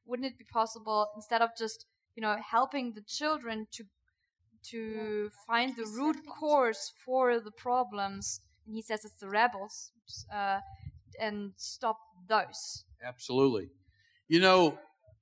wouldn't it be possible, instead of just, you know, helping the children to to find the root cause for the problems, and he says it's the rebels, uh, and stop those. Absolutely. You know,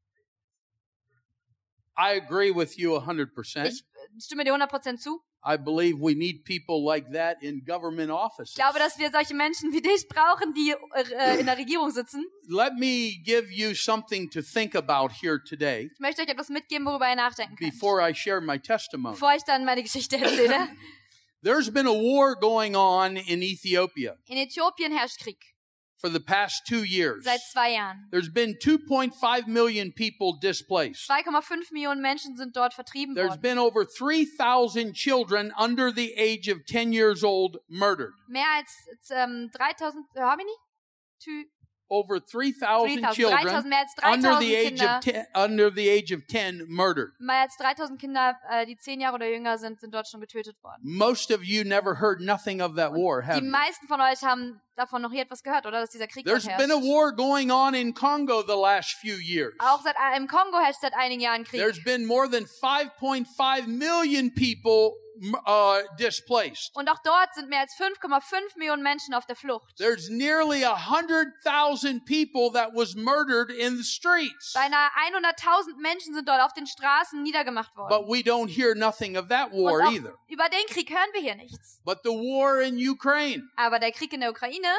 I agree with you one hundred percent. Ich stimme dir hundert Prozent zu. I believe we need people like that in government offices. Ich glaube, dass wir solche Menschen wie dich brauchen, die äh, in der Regierung sitzen. Let me give you something to think about here today. Ich möchte euch etwas mitgeben, worüber ihr nachdenken könnt. Before I share my testimony. Bevor ich dann meine Geschichte erzähle. There's been a war going on in Ethiopia. In Äthiopien herrscht Krieg. For the past two years. Seit zwei Jahren. There's been two point five million people displaced. zwei Komma fünf Millionen Menschen sind dort vertrieben There's worden. been over three thousand children under the age of ten years old murdered. Mehr als ähm, dreitausend, äh, how many? Two, Over three thousand dreitausend, children dreitausend, mehr als under dreitausend the age Kinder. of ten, under the age of ten murdered. Mehr als dreitausend Kinder, äh, die zehn Jahre oder jünger sind, sind dort schon getötet worden. Most of you never heard nothing of that war, have Die you? meisten von euch haben davon noch nie etwas gehört, oder? Dass dieser Krieg dort There's herrscht. been a war going on in Congo the last few years. Auch seit, äh, im Kongo herrscht seit einigen Jahren Krieg. There's been more than five point five million people uh, displaced. Und auch dort sind mehr als fünf Komma fünf Millionen Menschen auf der Flucht. There's nearly one hundred thousand people that was murdered in the streets. Beinahe hunderttausend Menschen sind dort auf den Straßen niedergemacht worden. But we don't hear nothing of that war Und auch either. über den Krieg hören wir hier nichts. But the war in Ukraine, Aber der Krieg in der Ukraine,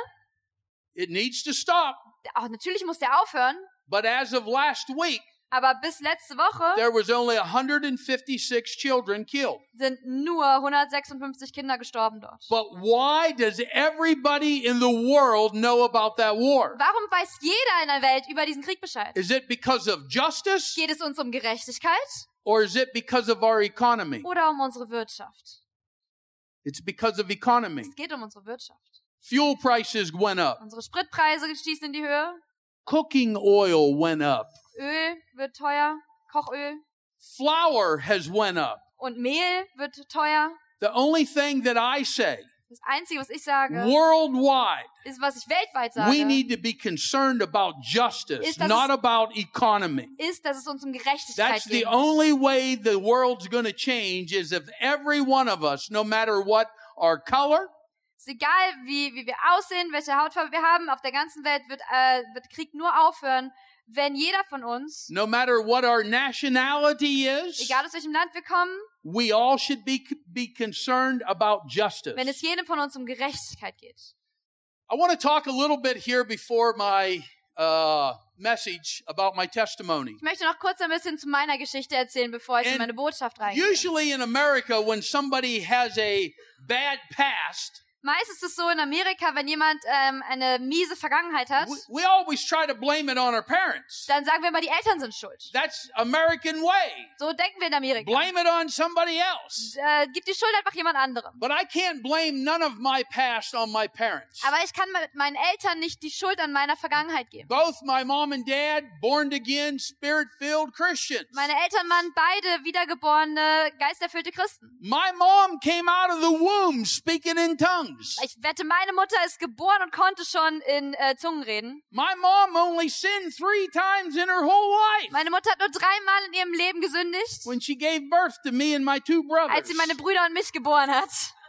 it needs to stop. auch natürlich muss der aufhören. But as of last week, Aber bis letzte Woche there was only one hundred fifty-six children killed. sind nur hundertsechsundfünfzig Kinder gestorben dort. But why does everybody in the world know about that war? Warum weiß jeder in der Welt über diesen Krieg Bescheid? Is it because of justice? Geht es uns um Gerechtigkeit? Or is it because of our economy? Oder um unsere Wirtschaft? It's because of economy. Es geht um unsere Wirtschaft. Fuel prices went up. Unsere Spritpreise stießen in die Höhe. Cooking oil went up. Öl wird teuer. Kochöl. Flour has went up. Und Mehl wird teuer. The only thing that I say, Das Einzige, was ich sage, worldwide, ist, was ich weltweit sage, we need to be concerned about justice, Ist, dass not es- about economy. ist, dass es uns um Gerechtigkeit That's the geht. only way the world's going to change is if every one of us, no matter what our color, Es ist egal, wie, wie wir aussehen, welche Hautfarbe wir haben, auf der ganzen Welt wird, äh, wird Krieg nur aufhören, wenn jeder von uns, no matter what our nationality is, egal aus welchem Land wir kommen, we all should be, be concerned about justice. wenn es jedem von uns um Gerechtigkeit geht. I want to talk a little bit here before my uh, message about my testimony. Ich möchte noch kurz ein bisschen zu meiner Geschichte erzählen, bevor ich in And meine Botschaft reingehe. Usually in America, when somebody has a bad past, Meist ist es so in Amerika, wenn jemand ähm, eine miese Vergangenheit hat, we, we always try to blame it on our parents. dann sagen wir immer, die Eltern sind schuld. That's American way. So denken wir in Amerika. Blame it on somebody else. Äh, gib die Schuld einfach jemand anderem. But I can't blame none of my past on my parents. Aber ich kann mit meinen Eltern nicht die Schuld an meiner Vergangenheit geben. Both my mom and dad, born again, spirit-filled Christians. Meine Eltern waren beide wiedergeborene, geisterfüllte Christen. My mom came out of the womb speaking in tongues. Ich wette, meine Mutter ist geboren und konnte schon in äh, Zungen reden. My mom only sinned three times in her whole life. Meine Mutter hat nur dreimal in ihrem Leben gesündigt, When she gave birth to me and my two brothers. als sie meine Brüder und mich geboren hat.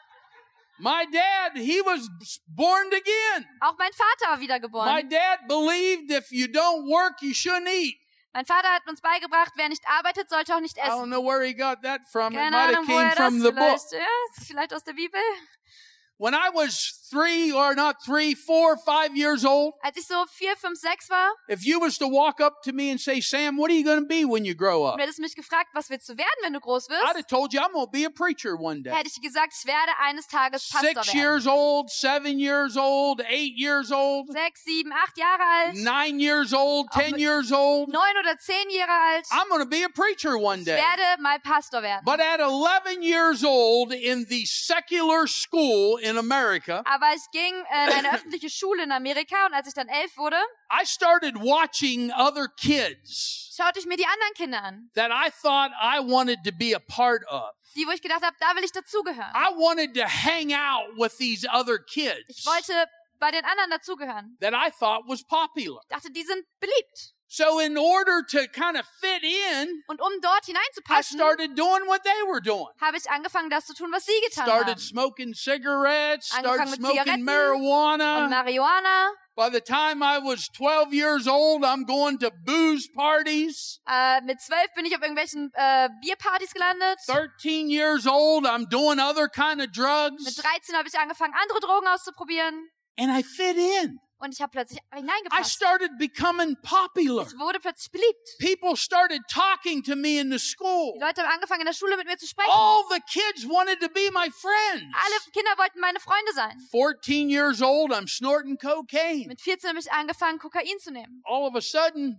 My dad, he was born again. Auch mein Vater war My wiedergeboren. dad believed if you don't work, you shouldn't eat. Mein Vater hat uns beigebracht, wer nicht arbeitet, sollte auch nicht I don't essen. know where he got that from. It Keine might Ahnung, have woher came das from the book. vielleicht, ja, vielleicht aus der Bibel. When I was three or not three, four, five years old, Als ich so vier, fünf, sechs war, if you was to walk up to me and say, Sam, what are you going to be when you grow up? und du hättest mich gefragt, was willst du werden, wenn du groß I'd wirst, have told you I'm going to be a preacher one day. hätte ich dir gesagt, ich werde eines Tages Pastor Six werden. years old, seven years old, eight years old, Sechs, sieben, acht Jahre alt, nine years old, Auch ten mit- years old. neun oder zehn Jahre alt. I'm going to be a preacher one Ich day. werde mal Pastor werden. But at eleven years old in the secular school in America, Aber ich ging äh, in eine öffentliche Schule in Amerika und als ich dann elf wurde, I started watching other kids schaute ich mir die anderen Kinder an. that I thought I wanted to be a part of. Die, wo ich gedacht habe, da will ich dazugehören. I wanted to hang out with these other kids Ich wollte bei den anderen dazugehören. that I thought was popular. Ich dachte, die sind beliebt. So in order to kind of fit in, Und um dort I hineinzupassen, started doing what they were doing. habe ich angefangen, das zu tun, was sie getan Started haben. smoking cigarettes, started Angefangen mit smoking Zigaretten marijuana. und Marihuana. By the time I was twelve years old, I'm going to booze parties. Äh, mit zwölf bin ich auf irgendwelchen äh, Bierpartys gelandet. thirteen years old, I'm doing other kind of Mit drugs. dreizehn habe ich angefangen, andere Drogen auszuprobieren. And I fit in. Und ich habe plötzlich I hineingepasst. started becoming popular. Ich wurde plötzlich beliebt. People started talking to me in the school. Die Leute haben angefangen, in der Schule mit mir zu sprechen. All the kids wanted to be my friends. Alle Kinder wollten meine Freunde sein. fourteen years old, I'm snorting cocaine. Mit vierzehn habe ich angefangen, Kokain zu nehmen. All of a sudden,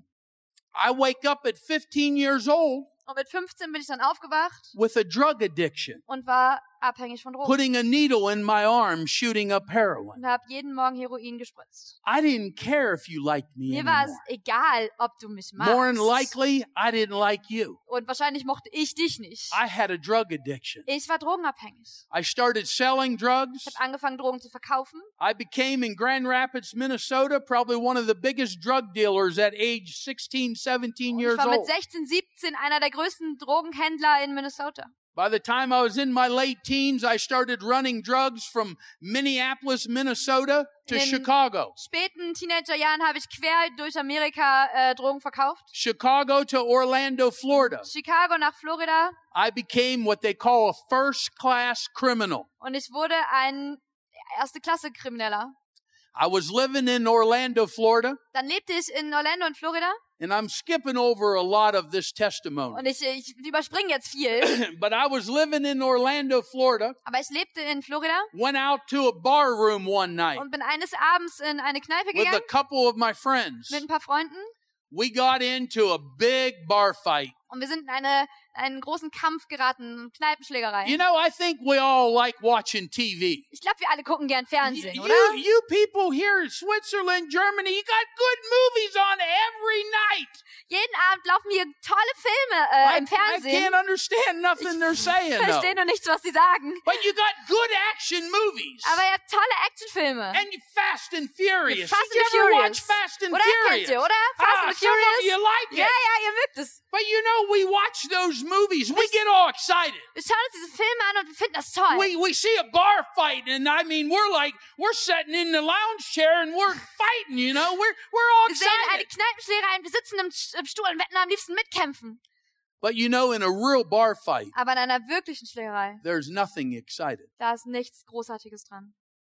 I wake up at fifteen years old Und mit fünfzehn bin ich dann aufgewacht with a drug addiction, und war abhängig von Drogen. putting a needle in my arm, shooting up heroin. Und habe jeden Morgen Heroin gespritzt. I didn't care if you liked me Mir war es anymore. egal, ob du mich More than magst. likely, I didn't like you. Und wahrscheinlich mochte ich dich nicht. I had a drug addiction. Ich war drogenabhängig. I started selling drugs. Ich habe angefangen, Drogen zu verkaufen. I became in Grand Rapids, Minnesota, probably one of the biggest drug dealers at age sixteen, seventeen Ich years war mit old. sechzehn, siebzehn einer der größten Drogenhändler in Minnesota. By the time I was in my late teens, I started running drugs from Minneapolis, Minnesota to In Chicago. späten Teenagerjahren habe ich quer durch Amerika äh, Drogen verkauft. Chicago to Orlando, Florida. Chicago nach Florida. I became what they call a first-class criminal. Und ich wurde ein Erste-Klasse-Krimineller. I was living in Orlando, Florida, Dann lebte ich in Orlando und Florida. and I'm skipping over a lot of this testimony. Und ich, ich überspringe jetzt viel. But I was living in Orlando, Florida, Aber ich lebte in Florida went out to a bar room one night und bin eines Abends in eine Kneipe with a gegangen couple of my friends. mit ein paar Freunden. We got into a big bar fight. Und wir sind in eine, einen großen Kampf geraten, Kneipenschlägerei. You know, I think we all like watching T V. Ich glaube, wir alle gucken gern Fernsehen, You, oder? you people here in Switzerland, Germany, you got good movies on every night. Jeden Abend laufen hier tolle Filme äh, I, im I Fernsehen. can't understand nothing they're saying, Ich though. verstehe nur nichts, was sie sagen. But you got good action movies. Aber ihr habt tolle Actionfilme. And Fast and Furious. Fast Did and you ever Furious. watch Fast and Oder Furious? kennt ihr, oder? Fast ah, and some of Furious. you like it. Ja, ja, ihr mögt es. But you know, we watch those movies. We get all excited. Wir schauen uns diese Filme an und wir finden das toll. We, we see a bar fight, and I mean, we're like, we're sitting in the lounge chair and we're fighting, you know? We're, we're all Wir sehen eine excited. Kneipenschlägerei und wir sitzen im, im Stuhl und wetten am liebsten mitkämpfen. But you know, in a real bar fight, Aber in einer wirklichen Schlägerei, there's nothing excited. da ist nichts Großartiges dran.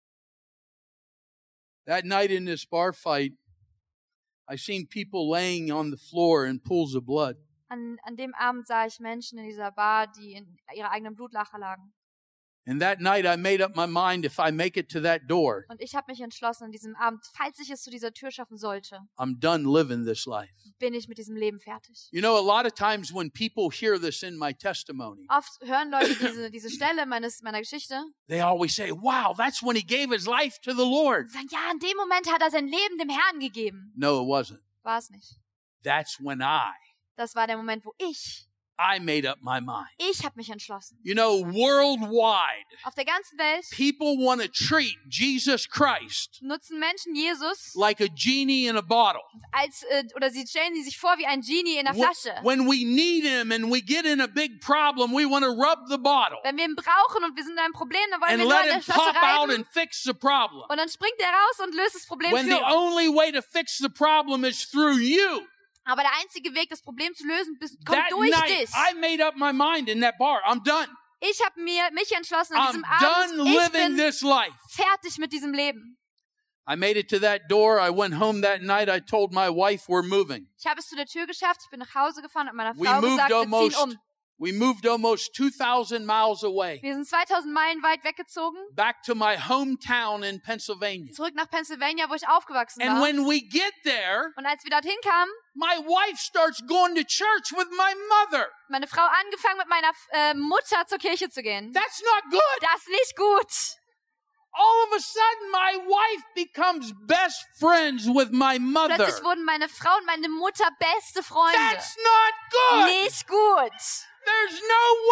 That night in this bar fight, I seen people laying on the floor in pools of blood. An, an dem Abend sah ich Menschen in dieser Bar, die in ihrer eigenen Blutlache lagen. And that night I made up my mind, if I make it to that door, Und ich habe mich entschlossen, an diesem Abend, falls ich es zu dieser Tür schaffen sollte, I'm done living this life. bin ich mit diesem Leben fertig. You know, a lot of times when people hear this in my testimony, Oft hören Leute diese, diese Stelle meines, meiner Geschichte they always say, wow, that's when he gave his life to the Lord. und sagen, ja, in dem Moment hat er sein Leben dem Herrn gegeben. No, it wasn't. War es nicht. That's when I, Das war der Moment, wo ich, I made up my mind. ich habe mich entschlossen. You know, worldwide, Auf der ganzen Welt people want to treat Jesus Christ nutzen Menschen Jesus like a genie in a bottle. als, äh, oder sie stellen sie sich vor wie ein Genie in der Flasche. When we need him and we get in a big problem, we want to rub the bottle Wenn wir ihn brauchen und wir sind in einem Problem, dann wollen and wir nur let an der him Flasche pop out reiben and fix the problem. und dann springt er raus und löst das Problem When für the uns. only way to fix the problem is through you. Aber der einzige Weg, das Problem zu lösen, bist, kommt That durch night, dich. I made up my mind in that bar. I'm done. Ich habe mir mich entschlossen an I'm diesem done Abend, ich living bin this life. fertig mit diesem Leben. I made it to that door. I went home that night. I told my wife we're moving. Ich habe es zu der Tür geschafft, ich bin nach Hause gefahren und meiner We Frau moved gesagt, wir almost, ziehen um. we moved almost two thousand miles away, Wir sind zweitausend Meilen weit weggezogen, back to my hometown in Pennsylvania. zurück nach Pennsylvania, wo ich aufgewachsen And war. when we get there, Und als wir dorthin kamen, my wife starts going to church with my mother. meine Frau angefangen mit meiner äh, Mutter zur Kirche zu gehen. That's not good. Das ist nicht gut. All of a sudden, my wife becomes best friends with my mother. Plötzlich wurden meine Frau und meine Mutter beste Freunde. That's not good. Nicht gut. There's nowhere in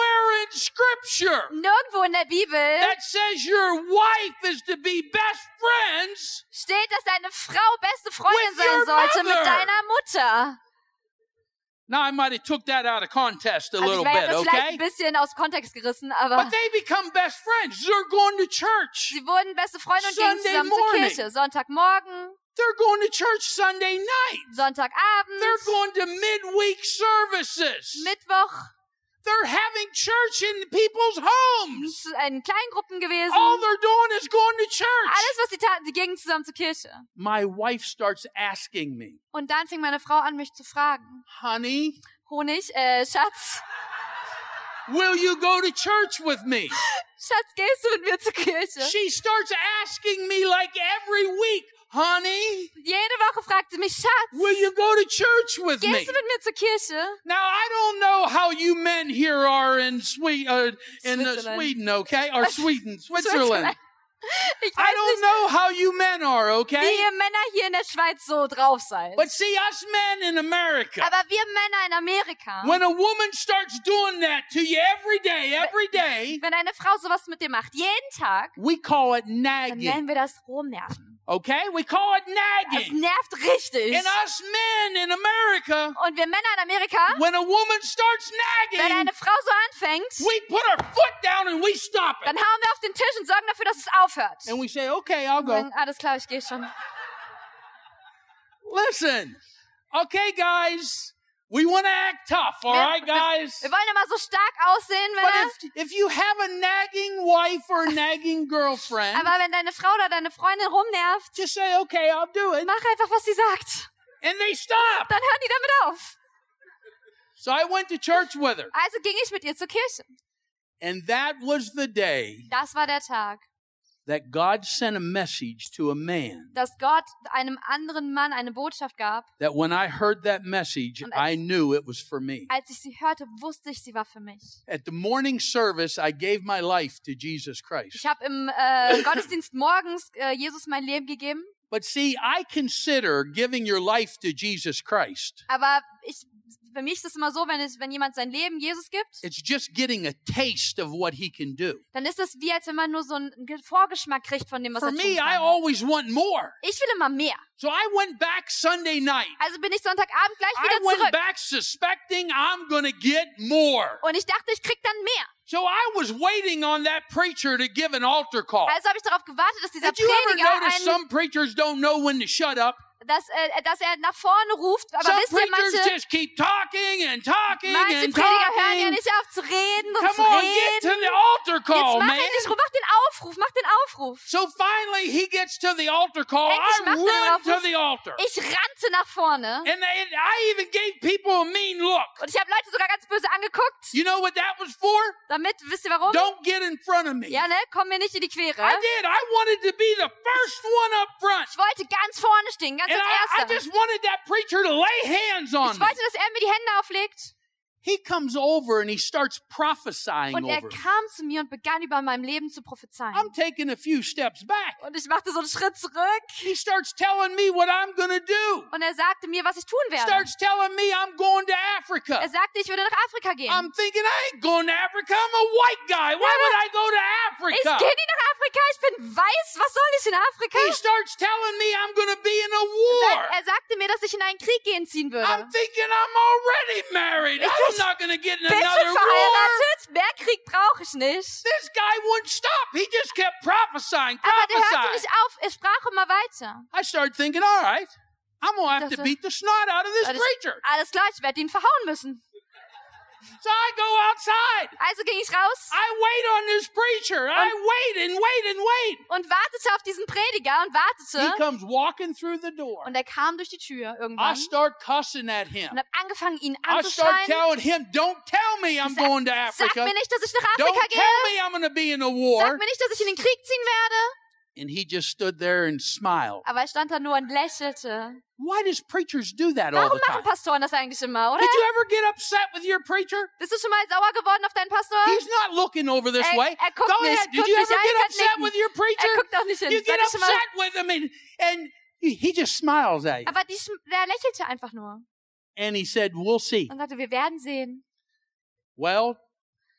in Scripture Nirgendwo in der Bibel that says your wife is to be best friends steht, dass deine Frau beste Freundin with sein your sollte mit mother. deiner Mutter. Now, I might have took that out of context a Also little ich wäre bit, das vielleicht okay? ein bisschen aus dem Kontext gerissen, aber But they become best friends. They're going to church. sie wurden beste Freunde und gingen Sunday zusammen morning. zur Kirche. Sonntagmorgen, They're going to church Sunday night. Sonntagabend, They're going to midweek services. Mittwoch, They're having church in people's homes. in Kleingruppen gewesen. All they're doing is going to church. Alles, was sie taten, sie gingen zusammen zur Kirche. My wife starts asking me, Und dann fing meine Frau an, mich zu fragen. honey, Honig, äh, Schatz, will you go to church with me? Schatz, gehst du mit mir zur Kirche? She starts asking me like every week, honey, Jede Woche fragt sie mich, Schatz, will you go to church with me? gehst du mit mir zur Kirche? Now, I don't know how you men here are in, Swe- uh, in uh, Switzerland. Sweden, okay? Or Sweden, Switzerland. Switzerland. Ich I weiß don't nicht, know how you men are, wie okay? ihr Männer hier in der Schweiz so drauf seid. But see, us men in America, Aber wir Männer in Amerika, when a woman starts doing that to you every day, every day, wenn eine Frau sowas mit dir macht, jeden Tag, we call it dann nagging, nennen wir das Rumnerven. okay? We call it Das nagging. nervt richtig. And us men in America, Und wir Männer in Amerika, when a woman starts wenn nagging, eine Frau so anfängt, we put our foot down and we stop dann it. hauen wir auf den Tisch und sorgen dafür, dass es aufhört. And we say, okay, I'll Und go. sagen, alles klar, ich gehe schon. Listen, okay, guys, we want to act tough, all Wir, right, wir, guys? wir wollen immer so stark aussehen, But Männer. if, if you have a nagging wife or a nagging girlfriend, Aber wenn deine Frau oder deine Freundin rumnervt, just say, okay, I'll do it. mach einfach, was sie sagt. And they stop. Dann hören die damit auf. So I went to church with her. Also ging ich mit ihr zur Kirche. And that was the day Das war der Tag, that God sent a message to a man. dass Gott einem anderen Mann eine Botschaft gab. That when I heard that message, Und als- I knew it was for me. Als ich sie hörte, wusste ich, sie war für mich. At the morning service, I gave my life to Jesus Ich Christ. habe im äh, Gottesdienst morgens äh, Jesus mein Leben gegeben. But see, I consider giving your life to Jesus Christ. Aber ich, für mich ist es immer so, wenn, es, wenn jemand sein Leben Jesus gibt, It's just getting a taste of what he can do. dann ist es wie, als wenn man nur so einen Vorgeschmack kriegt von dem, was For er tun me, I kann. always want more. Ich will immer mehr. So I went back Sunday night. Also bin ich Sonntagabend gleich I wieder went zurück. back suspecting I'm going to get more. Und ich dachte, ich krieg dann mehr. So I was waiting on that preacher to give an altar call. Also habe ich darauf gewartet, dass dieser Did you ever Prediger notice einen, some preachers don't know when to shut up? dass, äh, dass er nach vorne ruft. Aber Some wisst ihr, preachers manche, just keep talking and talking manche and Prediger hören ja talking. nicht auf zu reden und Come zu on, get to reden. the altar Jetzt call, mach man. endlich, mach den Aufruf, mach den Aufruf. So finally he gets to the altar call. Endlich I macht er den ran to Aufruf. the altar. Ich rannte nach vorne. And they, I even gave people a mean look. Und ich habe Leute sogar ganz böse angeguckt. You know what that was for? Damit, wisst ihr warum? Don't get in front of me. Ja, ne? Komm mir nicht in die Quere. I did. I wanted to be the first one up front. Ich wollte ganz vorne stehen, ganz And als I, I Erster. just wanted that preacher to lay hands on Ich me. wollte, dass er mir die Hände auflegt. He comes over and he starts prophesying Und er over me. kam zu mir und begann über meinem Leben zu prophezeien. I'm taking a few steps back. Und ich machte so einen Schritt zurück. He starts telling me what I'm going to do. Und er sagte mir, was ich tun werde. Starts telling me I'm going to Africa. Er sagte, ich würde nach Afrika gehen. I'm thinking I ain't going to Africa. I'm a white guy. Why would I go to Ich Africa? gehe nicht nach Afrika, ich bin weiß. Was soll ich in Afrika? He starts telling me I'm going to be in a Er, war. er sagte mir, dass ich in einen Krieg gehen ziehen würde. I'm thinking I'm already married. Ich I'm not going to get in bin schon another war. verheiratet. Mehr Krieg brauche ich nicht. This guy wouldn't stop. He just kept prophesying, Aber der hörte prophesying. nicht auf. Er sprach immer weiter. I started thinking, all right, I'm going to have to Dachte, beat the snot out of this alles, preacher. alles klar, ich werde ihn verhauen müssen. So I go outside. Also ging ich raus I wait on this preacher. I wait and wait and wait. und wartete auf diesen Prediger und He wartete. comes walking through the door. Und er kam durch die Tür I irgendwann start cussing at him. und habe angefangen, ihn I start anzuschreien. telling him, don't tell me I'm Sag- going to Sag Africa. mir nicht, dass ich nach Don't Afrika tell gehe. me I'm going to be in a Sag war. mir nicht, dass ich in den Krieg ziehen werde. And he just stood there and smiled. Aber er stand da nur und lächelte. Why does preachers do that all Warum the machen time? Pastoren das eigentlich immer, oder? Did you ever get upset with your preacher? Bist du schon mal sauer geworden auf deinen Pastor? He's not looking over this Er, way. er guckt Go nicht. ahead. Did Guckt you nicht ever an, get kann upset nicken. with your Er preacher? guckt auch nicht hin. You Seid get ihr schon mal- upset with him and, and he he just smiles at you. Aber die, schm- der lächelte einfach nur And he said, we'll see. und sagte, wir werden sehen. Well,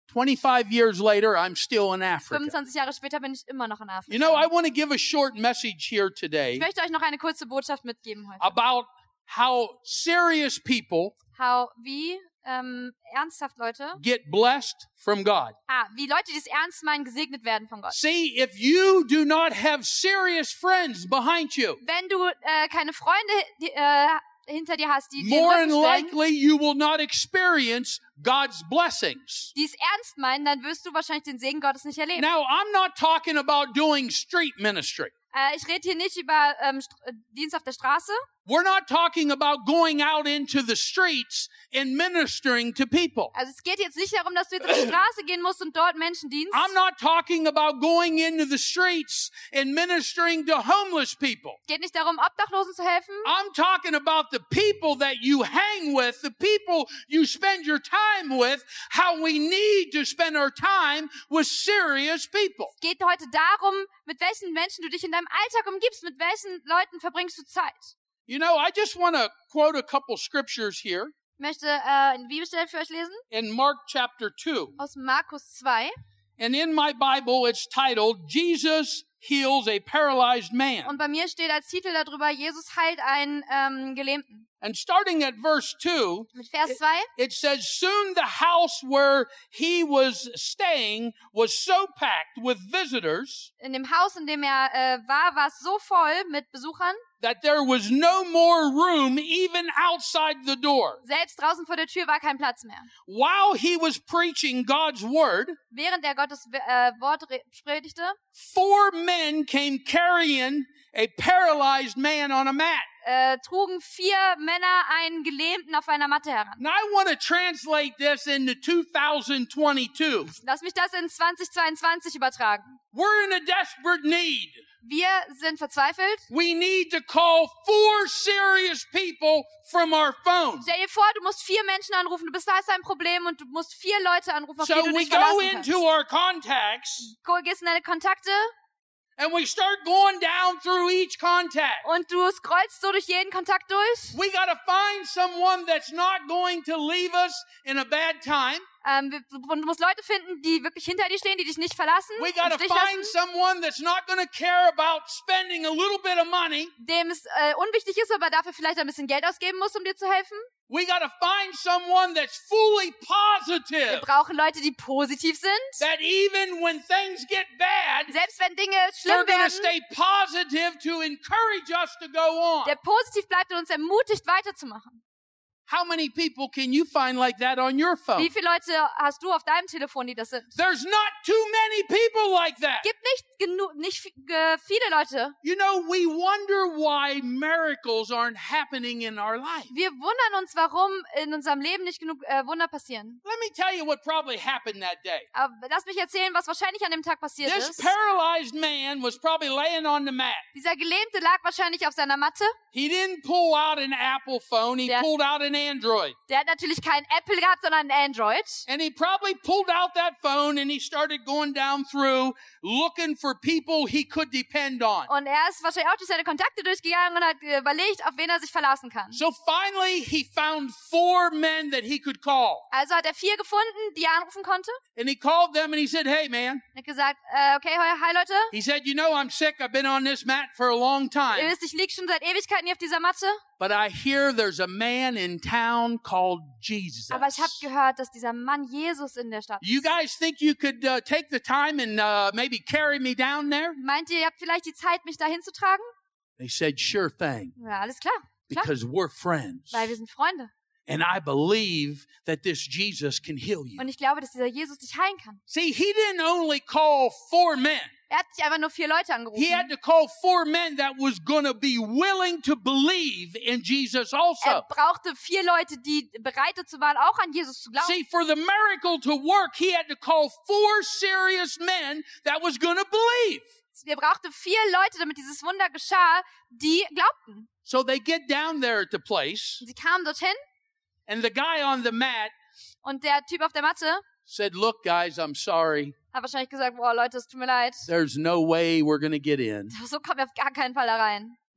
twenty-five years later, I'm still in Africa. fünfundzwanzig Jahre später bin ich immer noch in Afrika. You know, I want to give a short message here Ich today möchte euch noch eine kurze Botschaft mitgeben heute. about how serious people How, wie ähm, ernsthaft Leute, get blessed from God. ah, wie Leute, die es ernst meinen, gesegnet werden von Gott. See, if you do not have serious friends behind you, Wenn du äh, keine Freunde die, äh, hinter dir hast, die dir more den than Rücken stellen, likely you will not experience God's blessings. die es ernst meinen, dann wirst du wahrscheinlich den Segen Gottes nicht erleben. Now, I'm not talking about doing street ministry. Äh, ich rede hier nicht über ähm, St- äh, Dienst auf der Straße. We're not talking about going out into the streets and ministering to people. Also es geht jetzt nicht darum, dass du jetzt auf die Straße gehen musst und dort Menschen dienst. I'm not talking about going into the streets and ministering to homeless people. Es geht nicht darum, Obdachlosen zu helfen. I'm talking about the people that you hang with, the people you spend your time with, how we need to spend our time with serious people. Es geht heute darum, mit welchen Menschen du dich in deinem Alltag umgibst, mit welchen Leuten verbringst du Zeit. You know, I just want to quote a couple scriptures here Ich möchte äh, eine Bibelstelle für euch lesen in Mark chapter two. aus Markus zwei. And in my Bible, it's titled, Jesus Heals a Paralyzed Man. Und bei mir steht als Titel darüber, Jesus heilt einen ähm, Gelähmten. And starting at verse two, Mit Vers zwei. it says, soon the house where he was staying was so packed with visitors In dem Haus, in dem er äh, war, war es so voll mit Besuchern, that there was no more room even outside the door. selbst draußen vor der Tür war kein Platz mehr. While he was preaching God's word, Während er Gottes äh, Wort re- predigte, four men came carrying a paralyzed man on a mat. äh, trugen vier Männer einen Gelähmten auf einer Matte heran. Now I want to translate this into two thousand twenty-two. Lass mich das in zwanzig zweiundzwanzig übertragen. We're in a desperate need. Wir sind verzweifelt. We need to call four serious people from our phones. Stell dir vor, du musst vier Menschen anrufen, du bist da ist ein Problem und du musst vier Leute anrufen, auf So die du we dich go verlassen kannst. into our contacts Go- Gehst in deine Kontakte and we start going down through each contact. und du scrollst so durch jeden Kontakt durch. We got to find someone that's not going to leave us in a bad time. Ähm, wir- du musst Leute finden, die wirklich hinter dir stehen, die dich nicht verlassen, We im got to Stich find lassen, someone that's not going to care about spending a little bit of money. dem es äh, unwichtig ist, aber dafür vielleicht ein bisschen Geld ausgeben muss, um dir zu helfen. We got to find someone that's fully Wir positive. brauchen Leute, die positiv sind. That even when things get bad, Selbst wenn Dinge they're schlimm going to werden, stay positive to encourage us to go on. der positiv bleibt und uns ermutigt, weiterzumachen. How many people can you find like that on your phone? Wie viele Leute hast du auf deinem Telefon, die das sind? There's not too many people like that. Gibt nicht genug, nicht vi- ge- viele Leute. You know, we wonder why miracles aren't happening in our life. Wir wundern uns, warum in unserem Leben nicht genug äh, Wunder passieren. Let me tell you what probably happened that day. Aber lass mich erzählen, was wahrscheinlich an dem Tag passiert This ist. paralyzed man was probably laying on the mat. Dieser Gelähmte lag wahrscheinlich auf seiner Matte. He didn't pull out an Apple phone, he Der- pulled out an Android. Der hat natürlich kein Apple gehabt, sondern ein Android. And he probably pulled out that phone and he started going down through looking for people he could depend on. Und er ist wahrscheinlich auch durch seine Kontakte durchgegangen und hat äh, überlegt, auf wen er sich verlassen kann. So finally he found four men that he could call. Also hat er vier gefunden, die er anrufen konnte. And he called them and he said, "Hey man," Er hat gesagt, äh, okay, hi, hi Leute. he said, "You know I'm sick. I've been on this mat for a long Ihr time. wisst, ich liege schon seit Ewigkeiten hier auf dieser Matte. But I hear there's a man in town called Jesus." Aber ich habe gehört, dass dieser Mann Jesus in der Stadt You ist. guys think you could uh, take the time and uh, maybe carry me down there? Meint ihr, ihr habt vielleicht die Zeit, mich dahin zu tragen? They said, "Sure thing, Ja, alles klar. klar. because we're friends. Weil wir sind Freunde. And I believe that this Jesus can heal you." Und ich glaube, dass dieser Jesus dich heilen kann. See, he didn't only call four men. Er hat nicht einfach nur vier Leute He angerufen. had to call four men that was going to be willing to believe in Jesus Er also. brauchte vier Leute, die bereit dazu waren, auch an Jesus zu glauben. See, for the miracle to work, he had to call four serious men that was going to believe. Er brauchte vier Leute, damit dieses Wunder geschah, die glaubten. So they get down there at the place, Und sie kamen dorthin and the guy on the mat und der Typ auf der Matte said, "Look, guys, I'm sorry. hat wahrscheinlich gesagt, boah Leute, es tut mir leid. There's no way we're going to get in. So kommen wir auf gar keinen Fall da rein.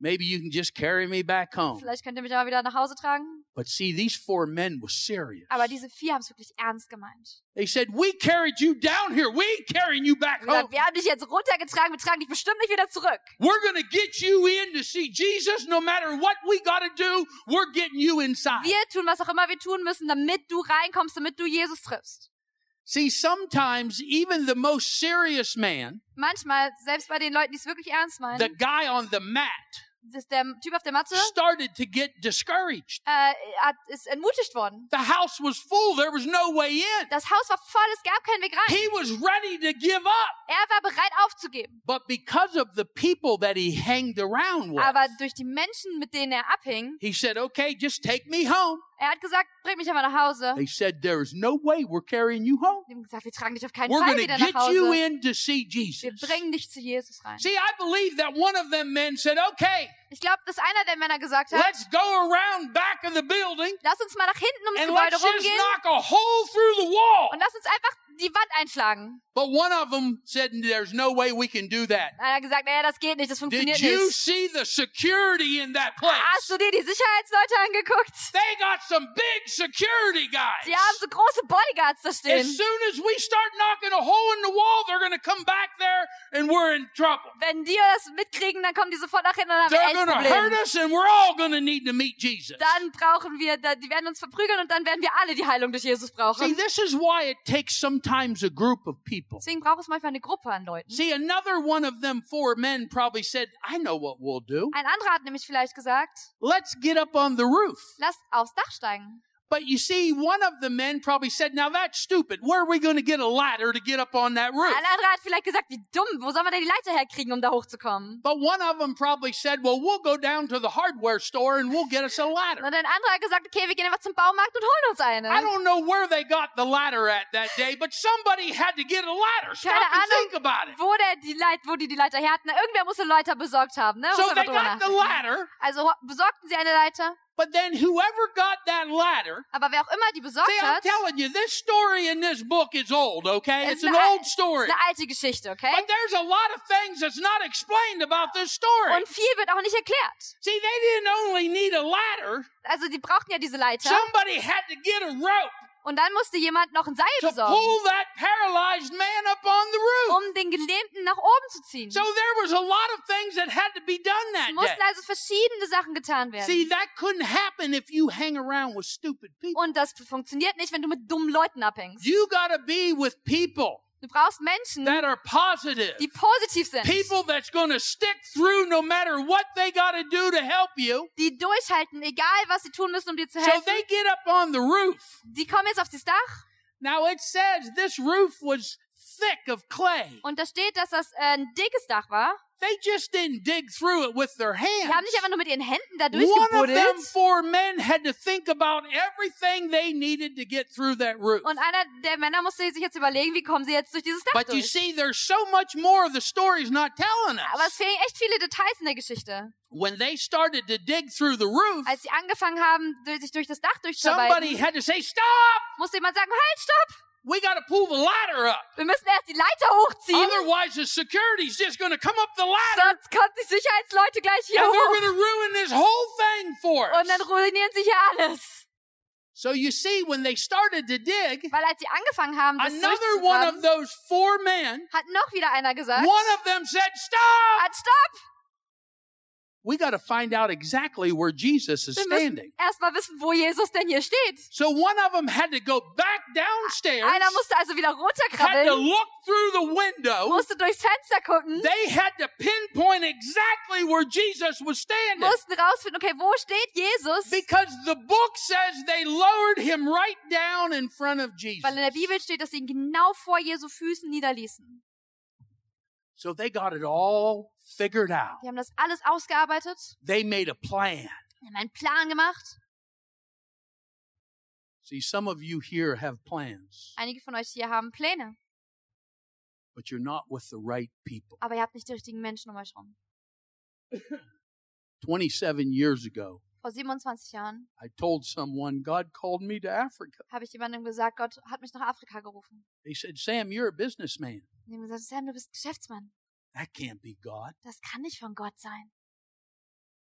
Maybe you can just carry me back home. Vielleicht könnt ihr mich aber wieder nach Hause tragen. But see, these four men were serious. Aber diese vier haben es wirklich ernst gemeint. They said, we carried you down here. We ain't carrying you back home. Wir haben dich jetzt runtergetragen, wir tragen dich bestimmt nicht wieder zurück. We're going to get you in to see Jesus. No matter what we got to do, we're getting you inside. Wir tun, was auch immer wir tun müssen, damit du reinkommst, damit du Jesus triffst. See, sometimes even the most serious man, Manchmal, selbst bei den Leuten, die es wirklich ernst meinen, the guy on the mat, das ist der Typ auf der Matte, started to get discouraged. äh, hat, ist entmutigt worden. The house was full. There was no way in. Das Haus war voll, es gab keinen Weg rein. He was ready to give up. Er war bereit aufzugeben. But because of the people that he hanged around with, Aber durch die Menschen, mit denen er abhing, he said, okay, just take me home. er hat gesagt, bring mich aber nach Hause. They said, there is no way we're carrying you home. Die haben gesagt, wir tragen dich auf keinen We're Fall going wieder to nach get you Hause. in to see Jesus. Wir bringen dich zu Jesus rein. See, I believe that one of them men said, okay, Ich glaube, dass einer der Männer gesagt hat, let's go around back of the building lass uns mal nach hinten ums and Gebäude let's just rumgehen knock a hole through the wall. und lass uns einfach die Wand einschlagen. But one of them said, there's no way we can do that. Einer hat gesagt, naja, das geht nicht, das funktioniert Did you nicht. see the security in that place? Hast du dir die Sicherheitsleute angeguckt? They got some big security guys. Die haben so große Bodyguards da stehen. As soon as we start knocking a hole in the wall, they're going to come back there and we're in trouble. Wenn die das mitkriegen, dann kommen die sofort nach hinten und dann haben wir They're echt going to hurt Probleme. us and we're all going to need to meet Jesus. Dann brauchen wir, die werden uns verprügeln und dann werden wir alle die Heilung durch Jesus See, brauchen. this is why it takes sometimes a group of people. Deswegen braucht es manchmal eine Gruppe an Leuten. See, another one of them four men probably said, I know what we'll do. Ein anderer hat nämlich vielleicht gesagt, Let's get up on the roof. lasst aufs Dach steigen. But you see, one of the men probably said, now that's stupid. Where are we going to get a ladder to get up on that roof? Ein anderer hat vielleicht gesagt, wie dumm, wo sollen wir denn die Leiter herkriegen, um da hochzukommen? But one of them probably said, well, we'll go down to the hardware store and we'll get us a ladder. Und ein anderer hat gesagt, okay, wir gehen einfach zum Baumarkt und holen uns eine. I don't know where they got the ladder at that day, but somebody had to get a ladder. Stop Keine and think Ahnung, about it. wo, der die Leit, wo die die Leiter her hatten. Irgendwer muss eine Leiter besorgt haben. Ne? So Muss they einfach drüber got the nachdenken. ladder, Also ho- besorgten sie eine Leiter. but then whoever got that ladder, Aber wer auch immer die besorgt see, I'm hat, telling you, this story in this book is old, okay? es It's ist an eine, old ist story. eine alte Geschichte, okay? But there's a lot of things that's not explained about this story. Und viel wird auch nicht erklärt. See, they didn't only need a ladder. Also die brauchten ja diese Leiter. Somebody had to get a rope Und dann musste jemand noch ein Seil to besorgen, pull that paralyzed man up on the roof. um den Gelähmten nach oben zu ziehen. So there was a lot of things that had to be done Es that day. mussten also verschiedene Sachen getan werden. See, that couldn't happen if you hang around with stupid people. Und das funktioniert nicht, wenn du mit dummen Leuten abhängst. You gotta be with people Du brauchst Menschen, that are positive. die positiv sind, People that's gonna stick through no matter what they gotta do to help you. die durchhalten, egal was sie tun müssen, um dir zu So helfen. they get up on the roof. Die kommen jetzt auf das Dach Now it says this roof was thick of clay. und da steht, dass das äh, ein dickes Dach war. They just didn't dig through it with their hands. Die haben nicht einfach nur mit ihren Händen da One of them durchgebuddelt. four men had to think about everything they needed to get through that roof. Und einer der Männer musste sich jetzt überlegen, wie kommen sie jetzt durch dieses Dach But you durch. see, there's so much more the story's not telling Aber es us. fehlen echt viele Details in der Geschichte. When they started to dig through the roof, Als sie angefangen haben, durch- sich durch das Dach somebody durchzuarbeiten, had to say, stop! musste jemand sagen, halt, stopp! We got to pull the ladder up. Wir müssen erst die Leiter hochziehen, Otherwise, the security's just going to come up the ladder sonst kommen die Sicherheitsleute gleich hier and they're hoch. going to ruin this whole thing for Und us. dann ruinieren sie hier alles. So you see, when they started to dig, Weil als sie angefangen haben, das another one of durchzugraben, those four men, hat noch wieder einer gesagt, one of them said, stop! halt, stopp! We got to find out exactly where Jesus is Wir müssen standing. erstmal wissen, wo Jesus denn hier steht. So one of them had to go back downstairs, Einer musste also wieder had to runterkrabbeln, look through the window. musste durchs Fenster gucken, They had to pinpoint exactly where Jesus was standing. mussten rausfinden, okay, wo steht Jesus? Because the book says they lowered him right down in front of Jesus. Weil in der Bibel steht, dass sie ihn genau vor Jesu Füßen niederließen. So they got it all figured out. Die haben das alles ausgearbeitet, They made a plan. die haben einen Plan gemacht. See, some of you here have plans, Einige von euch hier haben Pläne, but you're not with the right people. aber ihr habt nicht die richtigen Menschen um euch rum. twenty-seven years ago, Vor siebenundzwanzig Jahren I told someone God called me to Africa. habe ich jemandem gesagt, Gott hat mich nach Afrika gerufen. They said, Sam, you're a businessman. Und die haben gesagt, Sam, du bist Geschäftsmann. That can't be God. Das kann nicht von Gott sein.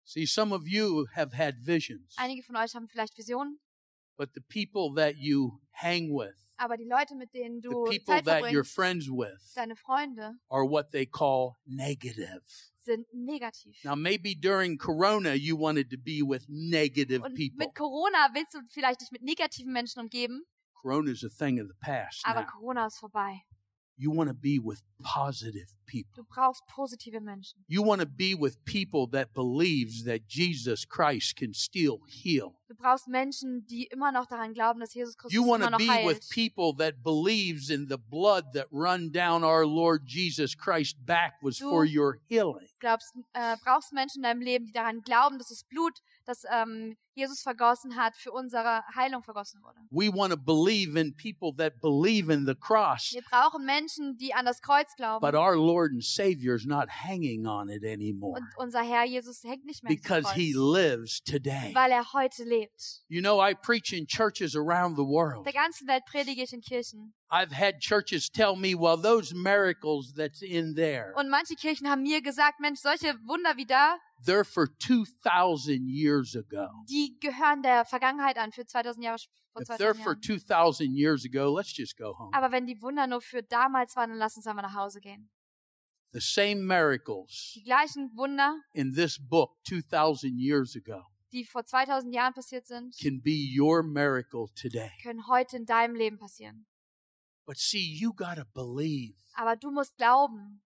See, some of you have had visions, Einige von euch haben vielleicht Visionen, but the people that you hang with, aber die Leute, mit denen the du people Zeit that you're verbringst, friends with, deine Freunde, are what they call negative. sind negativ. Now, maybe during Corona, you wanted to be with negative Und people. mit Corona willst du vielleicht dich mit negativen Menschen umgeben, Corona is a thing of the past aber now. Corona ist vorbei. You want to be with positive people. Du brauchst positive Menschen. You want to be with people that believes that Jesus Christ can still heal. Du brauchst Menschen, die immer noch daran glauben, dass Jesus Christus You want immer to noch be with heilt. people that believes in the blood that run down our Lord Jesus Christ's back was Du for your healing. glaubst, äh, brauchst Menschen in deinem Leben, die daran glauben, dass das Blut, das ähm, Jesus vergossen hat, für unsere Heilung vergossen wurde. We want to believe in people that believe in the cross, Wir brauchen Menschen, die an das Kreuz glauben. but our Lord and Savior is not hanging on it anymore Und unser Herr Jesus hängt nicht mehr because am He Kreuz, lives today. weil er heute lebt. You know, I preach in churches around the Auf world. der ganzen Welt predige ich in Kirchen. I've had churches tell me, well, those miracles that's in there, Und manche Kirchen haben mir gesagt, Mensch, solche Wunder wie da, they're for two thousand years ago. die gehören der Vergangenheit an, für zweitausend Jahre vor If they're zweitausend for Jahren. two thousand years ago, let's just go home. Aber wenn die Wunder nur für damals waren, dann lass uns einmal nach Hause gehen. The same miracles Die gleichen Wunder, in this book two thousand years ago die vor zweitausend Jahren passiert sind, can be your miracle today. können heute in deinem Leben passieren. But see, you got to believe. Aber du musst glauben.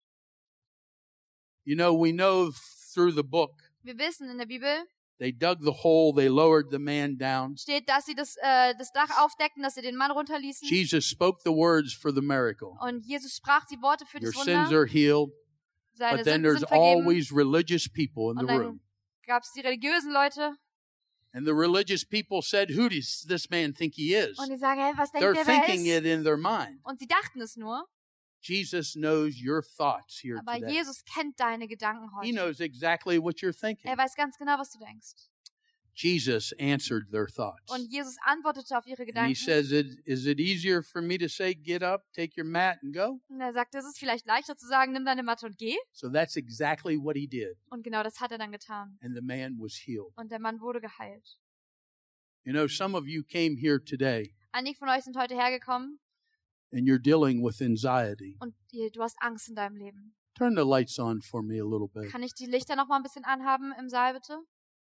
You know, we know through the book, Wir wissen in der Bibel, they dug the hole, they lowered the man down. steht, dass sie das, äh, das Dach aufdeckten, dass sie den Mann runterließen. Jesus spoke the words for the miracle. Und Jesus sprach die Worte für Your das sins Wunder. are healed, Seine but then Sünden there's sind vergeben. always religious people in Und the dann room. gab es die religiösen Leute. And the religious people said, who does this man think he is? Und die sagen, hey, was denkt They're der, wer er thinking ist? it in their mind. Und sie dachten es nur. Jesus knows your thoughts here Aber today. Jesus kennt deine Gedanken He heute. knows exactly what you're thinking. Er weiß ganz genau, was du denkst. Jesus answered their thoughts. Und Jesus antwortete auf ihre And he Gedanken. says, "Is- is it easier for me to say, get up, take your mat and go? Und er sagt, es ist vielleicht leichter zu sagen, nimm deine Matte und geh. So that's exactly what he did. Und genau das hat er dann getan. And the man was healed. Und der Mann wurde geheilt. You know, some of you came here today Einige von euch sind heute hergekommen and you're dealing with anxiety. und ihr, du hast Angst in deinem Leben. Turn the lights on for me a little bit. Kann ich die Lichter noch mal ein bisschen anhaben im Saal, bitte?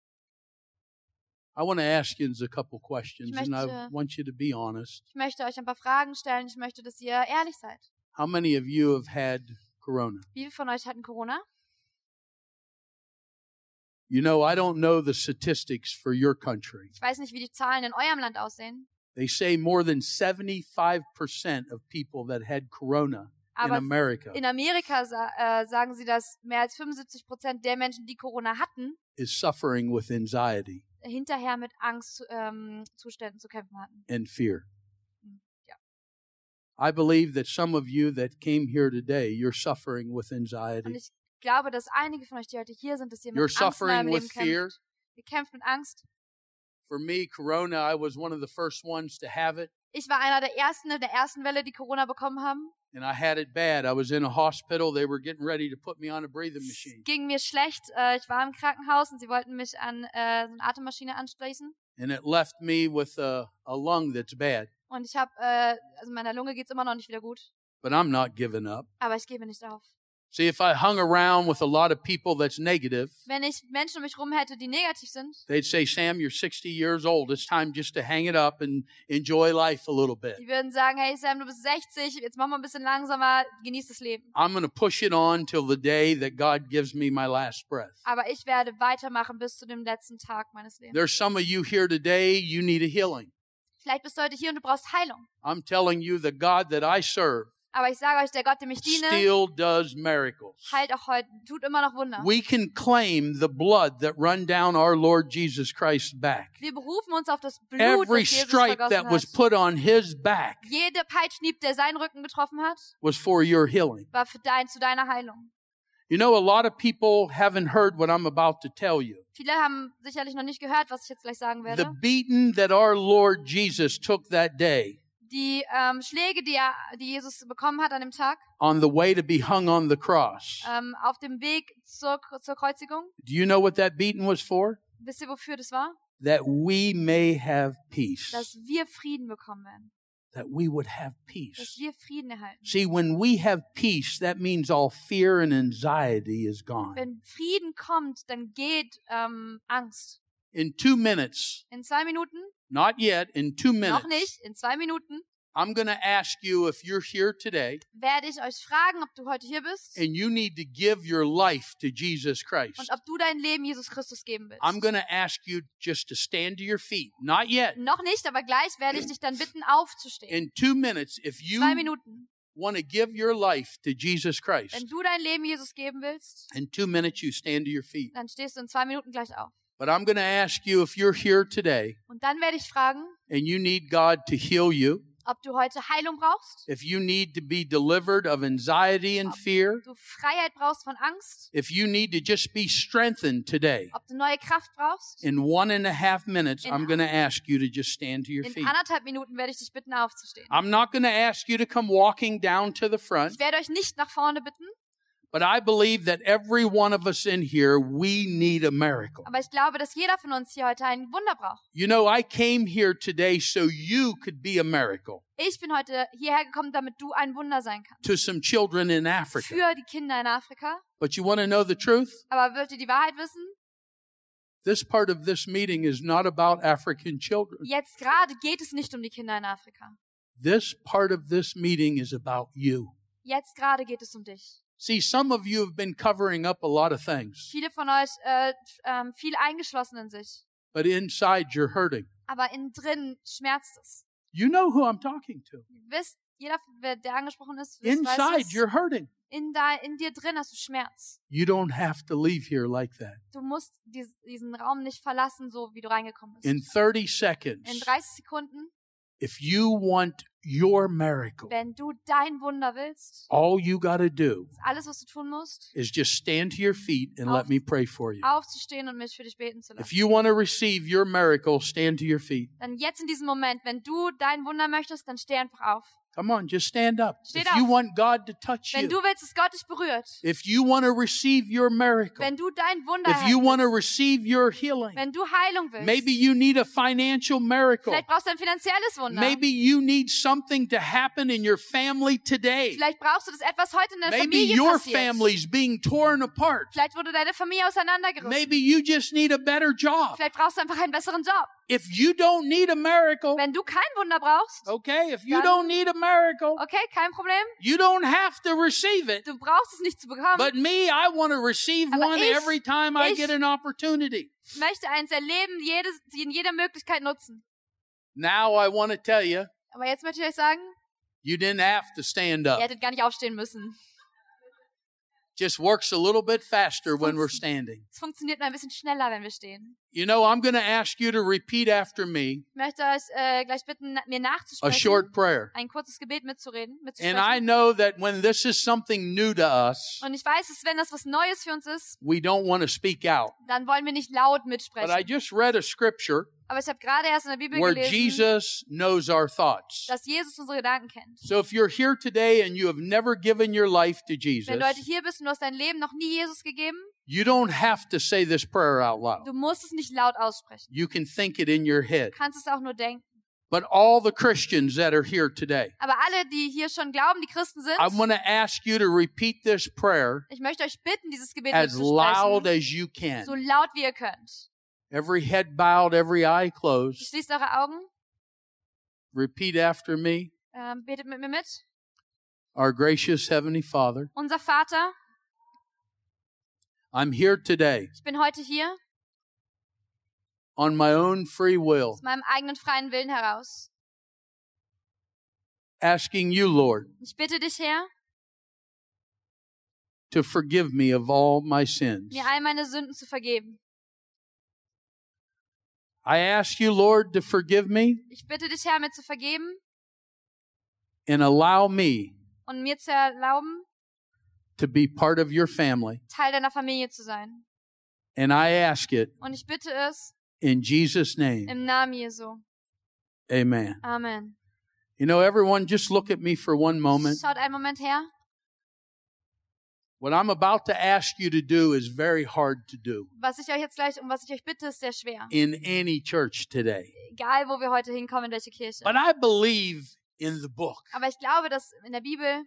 I want to ask you a couple questions, Ich and I möchte- want you to be honest. Ich möchte euch ein paar Fragen stellen. Ich möchte, dass ihr ehrlich seid. How many of you have had corona? Wie viele von euch hatten Corona? You know, I don't know the statistics for your country. Ich weiß nicht, wie die Zahlen in eurem Land aussehen. They say more than seventy-five percent of people that had corona in Aber America in Amerika sa äh, sagen sie, dass mehr als fünfundsiebzig Prozent der Menschen, die Corona hatten, is suffering with anxiety hinterher mit Angstzuständen ähm, Zuständen zu kämpfen hatten. and fear. Ja. I believe that some of you that came here today, you're suffering with Und anxiety. ich glaube, dass einige von euch, die heute hier sind, dass ihr mit You're Angst in eurem suffering Leben with fear. kämpft. Ihr kämpft mit Angst. For me, corona, I was one of the first ones to have it, Ich war einer der ersten in der ersten Welle, die Corona bekommen haben. and I had it bad. I was in a hospital. They were getting ready to put me on a breathing machine. Ging mir schlecht. Äh, ich war im Krankenhaus und sie wollten mich an äh, so eine Atemmaschine anschließen. And it left me with a, a lung that's bad. Und ich habe, äh, also meiner Lunge geht's immer noch nicht wieder gut. But I'm not giving up. Aber ich gebe nicht auf. See, if I hung around with a lot of people that's negative, Wenn ich Menschen um mich rum hätte, die negativ sind, they'd say, Sam, you're sixty years old. It's time just to hang it up and enjoy life a little bit. die würden sagen, hey Sam, du bist sechzig, jetzt mach mal ein bisschen langsamer, genieß das Leben. I'm going to push it on till the day that God gives me my last breath. Aber ich werde weitermachen bis zu dem letzten Tag meines Lebens. There's some of you here today, you need a healing. Vielleicht bist du heute hier und du brauchst Heilung. I'm telling you, the God that I serve Aber ich sage euch, der Gott, dem ich diene, still does miracles. heilt auch heute, tut immer noch Wunder. We can claim the blood that run down our Lord Jesus Christ's back. Wir berufen uns auf das Blut, Every das Jesus stripe vergossen that was hat. put on his back Jede Peitschenhieb, der seinen Rücken getroffen hat, was for your healing. war für dein, zu deiner Heilung. You know, a lot of people haven't heard what I'm about to tell you. Viele haben sicherlich noch nicht gehört, was ich jetzt gleich sagen The werde. beating that our Lord Jesus took that day die ähm, Schläge, die, er, die Jesus bekommen hat an dem Tag, on the way to be hung on the cross. ähm, auf dem Weg zur, zur Kreuzigung. Do you know what that beating was for? Wisst ihr, wofür das war? That we may have peace. Dass wir Frieden bekommen werden. That we would have peace. Dass wir Frieden erhalten. See, when we have peace, that means all fear and anxiety is gone. Wenn Frieden kommt, dann geht ähm, Angst. In two minutes, In zwei Minuten, not yet, in two minutes, noch nicht, in zwei Minuten, I'm going to ask you if you're here today werde ich euch fragen, ob du heute hier bist and you need to give your life to Jesus Christ. und ob du dein Leben Jesus Christus geben willst. I'm going to ask you just to stand to your feet. Not yet. Noch nicht, aber gleich werde ich dich dann bitten, aufzustehen. In two minutes, if you Zwei Minuten. want to give your life to Jesus Christ, Wenn du dein Leben Jesus geben willst, in two minutes you stand to your feet. dann stehst du in zwei Minuten gleich auf. But I'm going to ask you if you're here today Und dann werde ich fragen, and you need God to heal you, ob du heute Heilung brauchst, if you need to be delivered of anxiety and fear, du Freiheit brauchst von Angst, if you need to just be strengthened today. ob du neue Kraft brauchst. In one and a half minutes, In- I'm going to ask you to just stand to your In feet. anderthalb Minuten werde ich dich bitten, aufzustehen. I'm not going to ask you to come walking down to the front, Ich werde euch nicht nach vorne bitten, but I believe that every one of us in here, we need a miracle. aber ich glaube, dass jeder von uns hier heute ein Wunder braucht. You know, I came here today so you could be a miracle Ich bin heute hierher gekommen, damit du ein Wunder sein kannst. to some children in Africa. Für die Kinder in Afrika. But you want to know the truth? Aber wollt ihr die Wahrheit wissen? This part of this meeting is not about African children. Jetzt gerade geht es nicht um die Kinder in Afrika. This part of this meeting is about you. Jetzt gerade geht es um dich. See, some of you have been covering up a lot of things, Viele von euch äh, ähm, viel eingeschlossen in sich. but inside you're hurting. Aber innen drin schmerzt es. You know who I'm talking to. Ihr wisst, jeder, wer- der angesprochen ist, wisst, weiß Inside es. you're hurting. In, da, in dir drin hast du Schmerz. You don't have to leave here like that. Du musst dies, diesen Raum nicht verlassen, so wie du reingekommen bist. In thirty In seconds, dreißig Sekunden, if you want your miracle, wenn du dein Wunder willst, all you got to do ist alles, was du tun musst, is just stand to your feet and let Auf- me pray for you. aufzustehen und mich für dich beten zu If lassen. you want to receive your miracle, stand to your feet. Dann jetzt in diesem Moment, wenn du dein Wunder möchtest, dann steh einfach auf. Come on, just stand up. Steht If you auf. want God to touch Wenn you, du willst, dass Gott dich berührt, if you want to receive your miracle, wenn du dein Wunder if you erhalten want to willst, receive your healing, wenn du Heilung willst, maybe you need a financial miracle. vielleicht brauchst du ein finanzielles Wunder. Maybe you need something to happen in your family today. Vielleicht brauchst du das etwas heute in deiner Maybe Familie your passiert. family's being torn apart. Vielleicht wurde deine Familie auseinandergerissen. Maybe you just need a better job. Vielleicht brauchst du einfach einen besseren Job. If you don't need a miracle, Wenn du kein Wunder brauchst, okay, if you Dann- don't need a miracle, okay, kein Problem. you don't have to receive it. Du brauchst es nicht zu bekommen. But me, I want to receive Aber one ich- every time I ich- get an opportunity. Ich möchte eins erleben, jedes, in jeder Möglichkeit nutzen. Now I want to tell you, Aber jetzt möchte ich euch sagen, you didn't have to stand ihr up. hättet gar nicht aufstehen müssen. Just works a little bit faster when we're standing. Es funktioniert nur ein bisschen schneller, wenn wir stehen. You know, I'm going to ask you to repeat after me Ich möchte euch äh, gleich bitten, na- mir a nachzusprechen, short prayer. ein kurzes Gebet mitzureden, And I mitzusprechen. know that when this is something new to us, Und ich weiß, dass wenn das was Neues für uns ist, we don't want to speak out. dann wollen wir nicht laut But I mitsprechen. just read a scripture Aber ich habe gerade erst in der Bibel where gelesen, Jesus knows our thoughts. dass Jesus unsere Gedanken kennt. So if you're here today and you have never given your life to Jesus, Wenn du heute hier bist und du hast dein Leben noch nie Jesus gegeben, you don't have to say this prayer out loud. du musst es nicht laut aussprechen. You can think it in your head. Du kannst es auch nur denken. But all the Christians that are here today, Aber alle, die hier schon glauben, die Christen sind, I want to ask you to repeat this prayer ich möchte euch bitten, dieses Gebet as loud mitzusprechen, as you can. so laut wie ihr könnt. Every head bowed, every eye closed. Schließt eure Augen, Repeat after me. ähm, betet mit mir mit. Our gracious Heavenly Father, Unser Vater, I'm here today ich bin heute hier on my own free will, aus meinem eigenen freien Willen heraus. asking you, Lord, Ich bitte dich, Herr, to forgive me of all my sins. mir all meine Sünden zu vergeben. I ask you, Lord, to forgive me Ich bitte dich, Herr, mir zu vergeben and allow me und mir zu erlauben, to be part of your family. Teil deiner Familie zu sein. And I ask it Und ich bitte es in Jesus' name. im Namen Jesu. Amen. Amen. You know, everyone, just look at me for one moment. Schaut einen Moment her. What I'm about to ask you to do is very hard to do Was ich euch jetzt gleich, um was ich euch bitte, ist sehr schwer. in any church today. Egal, wo wir heute hinkommen, in welche Kirche. But I believe in the book. Aber ich glaube, dass in der Bibel,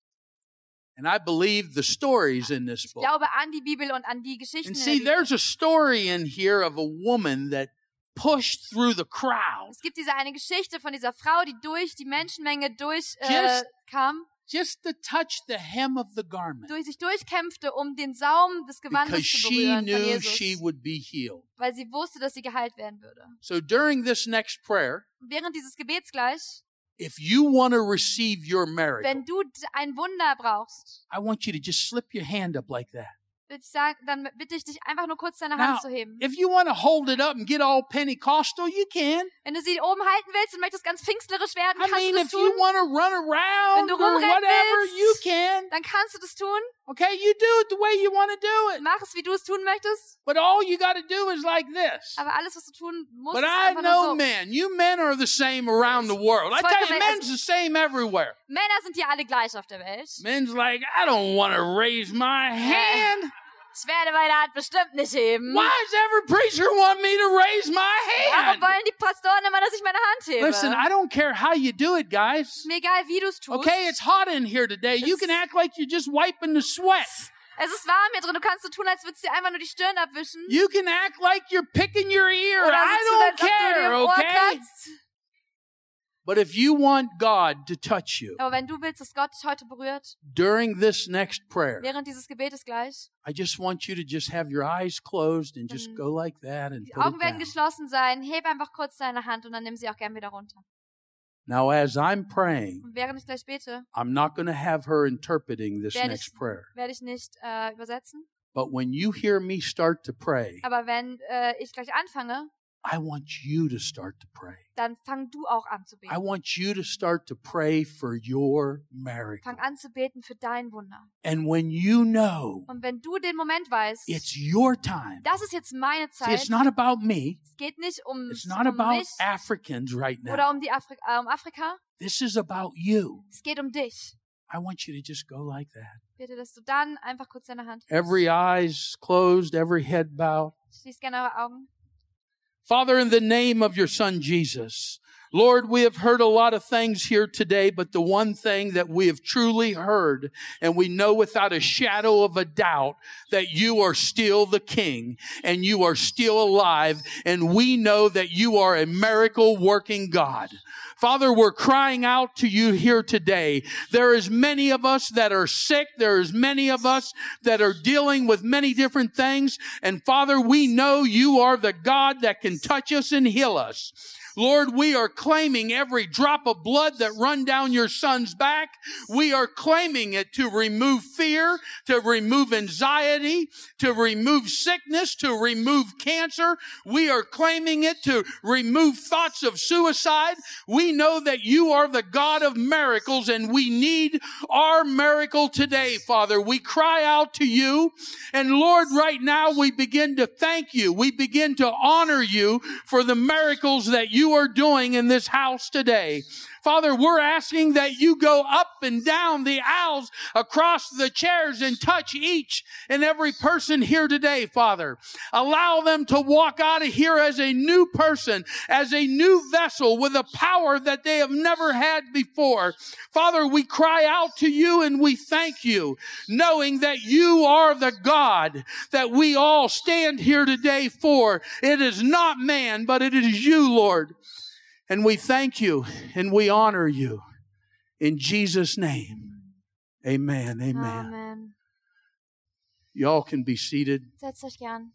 And I believe the stories in this ich book. glaube an die Bibel und an die Geschichten And in see, der Bibel. there's a story in here of a woman that pushed through the crowd Es gibt diese eine Geschichte von dieser Frau, die durch die Menschenmenge durch äh, Just- kam, just to touch the hem of the garment durch sich durchkämpfte, um den Saum des Gewandes because zu she berühren von knew Jesus, she would be healed. weil sie wusste, dass sie geheilt werden würde. So during this next prayer, Und während dieses Gebets gleich, if you want to receive your miracle, wenn du d- ein Wunder brauchst, I want you to just slip your hand up like that. würde ich sagen, dann bitte ich dich einfach nur kurz deine Now, Hand zu heben. if you want to hold it up and get all Pentecostal, you can. Wenn du sie oben halten willst und möchtest ganz pfingstlerisch werden, I kannst mean, du das if tun. you want to run Wenn around du or rumrennen whatever, you willst, can. dann kannst du das tun. Okay, you do it the way you want to do it. Mach es, wie du es tun möchtest. But all you got to do is like this. Aber alles, was du tun musst, But ist I einfach nur know so. men. You men are the same around the world. I tell you, men's the same everywhere. Männer sind hier alle gleich auf der Welt. Men's like, I don't want to raise my hand. Ich werde meine Hand bestimmt nicht heben. Why does every preacher want me to raise my Warum hand? wollen die Pastoren immer, dass ich meine Hand hebe? Listen, I don't care how you do it, guys. Ist mir egal, wie du es tust. Okay, it's hot in here today. You can act like you're just wiping the sweat. Es ist warm hier drin. Du kannst so tun, als würdest du dir einfach nur die Stirn abwischen. You can act like you're picking your ear. Oder I so tun, don't als ob du dir care, im Ohr okay? kratzt. But if you want God to touch you Aber wenn du willst, dass Gott dich heute berührt, during this next prayer, während dieses Gebetes gleich, I just want you to just have your eyes closed and just go like that and die put Augen it werden down. geschlossen sein, heb einfach kurz deine Hand und dann nimm sie auch gern wieder runter. Now, as I'm praying, Und während ich gleich bete, I'm not going to have her interpreting this werde next ich, prayer. werde ich nicht äh, übersetzen. But when you hear me start to pray, Aber wenn äh, ich gleich anfange, I want you to start to pray. dann fang du auch an zu I beten. want you to start to pray for your miracle. Fang an zu beten für dein Wunder. And when you know Und wenn du den Moment weißt, it's your time, das ist jetzt meine see, Zeit, it's not about me. es geht nicht um, It's not um about mich Africans right oder now. um, die Afri äh, um Afrika, This is about you. es geht um dich. I want you to just go like that. Bitte, dass du dann einfach kurz deine Hand hebst. Every eye's closed, every head bowed. Schließ gerne eure Augen. Father, in the name of your son Jesus, Lord, we have heard a lot of things here today, but the one thing that we have truly heard, and we know without a shadow of a doubt that you are still the King and you are still alive, and we know that you are a miracle working God. Father, we're crying out to you here today. There is many of us that are sick. There is many of us that are dealing with many different things. And Father, we know you are the God that can touch us and heal us. Lord, we are claiming every drop of blood that run down your son's back. We are claiming it to remove fear, to remove anxiety, to remove sickness, to remove cancer. We are claiming it to remove thoughts of suicide. We know that you are the God of miracles and we need our miracle today, Father. We cry out to you. And Lord, right now we begin to thank you. We begin to honor you for the miracles that you are doing in this house today. Father, we're asking that you go up and down the aisles, across the chairs, and touch each and every person here today, Father. Allow them to walk out of here as a new person, as a new vessel with a power that they have never had before. Father, we cry out to you and we thank you, knowing that you are the God that we all stand here today for. It is not man, but it is you, Lord. And we thank you and we honor you. In Jesus' name, amen, amen. Amen. Y'all can be seated. Setzt euch gern.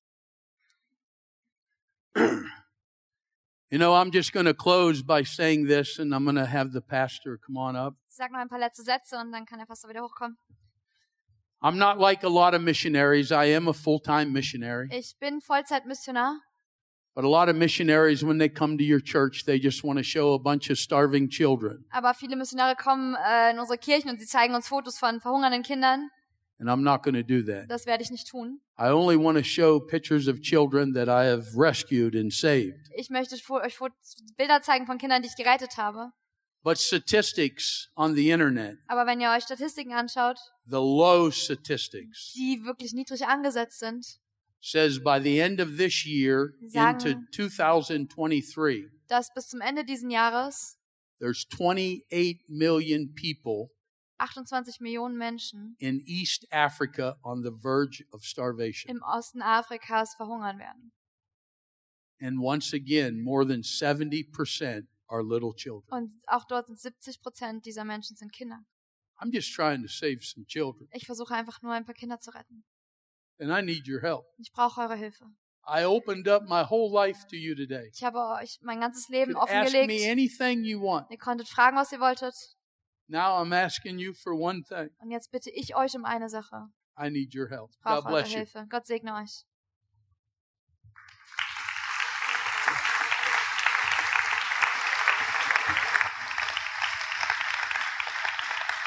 You know, I'm just going to close by saying this, and I'm going to have the pastor come on up. Ich sag noch ein paar letzte Sätze und dann kann der Pastor wieder hochkommen. I'm not like a lot of missionaries. I am a full-time missionary. Ich bin Vollzeitmissionar. But a lot of missionaries, when they come to your church, they just want to show a bunch of starving children. Aber viele Missionare kommen äh, in unsere Kirchen und sie zeigen uns Fotos von verhungernden Kindern. And I'm not going to do that. Das werde ich nicht tun. I only want to show pictures of children that I have rescued and saved. Ich möchte euch Bilder zeigen von Kindern, die ich gerettet habe. But statistics on the internet, Aber wenn ihr euch Statistiken anschaut, the low statistics, die wirklich niedrig angesetzt sind, says by the end of this year Sagen- into two thousand twenty-three, dass bis zum Ende dieses Jahres there's twenty-eight million people achtundzwanzig Millionen Menschen in East Africa on the verge of starvation. im Osten Afrikas verhungern werden. And once again, more than seventy percent are little children. Und auch dort sind siebzig Prozent dieser Menschen sind Kinder. I'm just trying to save some children, Ich versuche einfach nur ein paar Kinder zu retten. and I need your help. Ich brauche eure Hilfe. I opened up my whole life to you today. Ich habe euch mein ganzes Leben You could ask me offengelegt. anything you want. Ihr konntet fragen, was ihr wolltet. Now I'm asking you for one thing. Und jetzt bitte ich euch um eine Sache. I need your help. Ich God brauche eure bless you. Hilfe. Gott segne euch.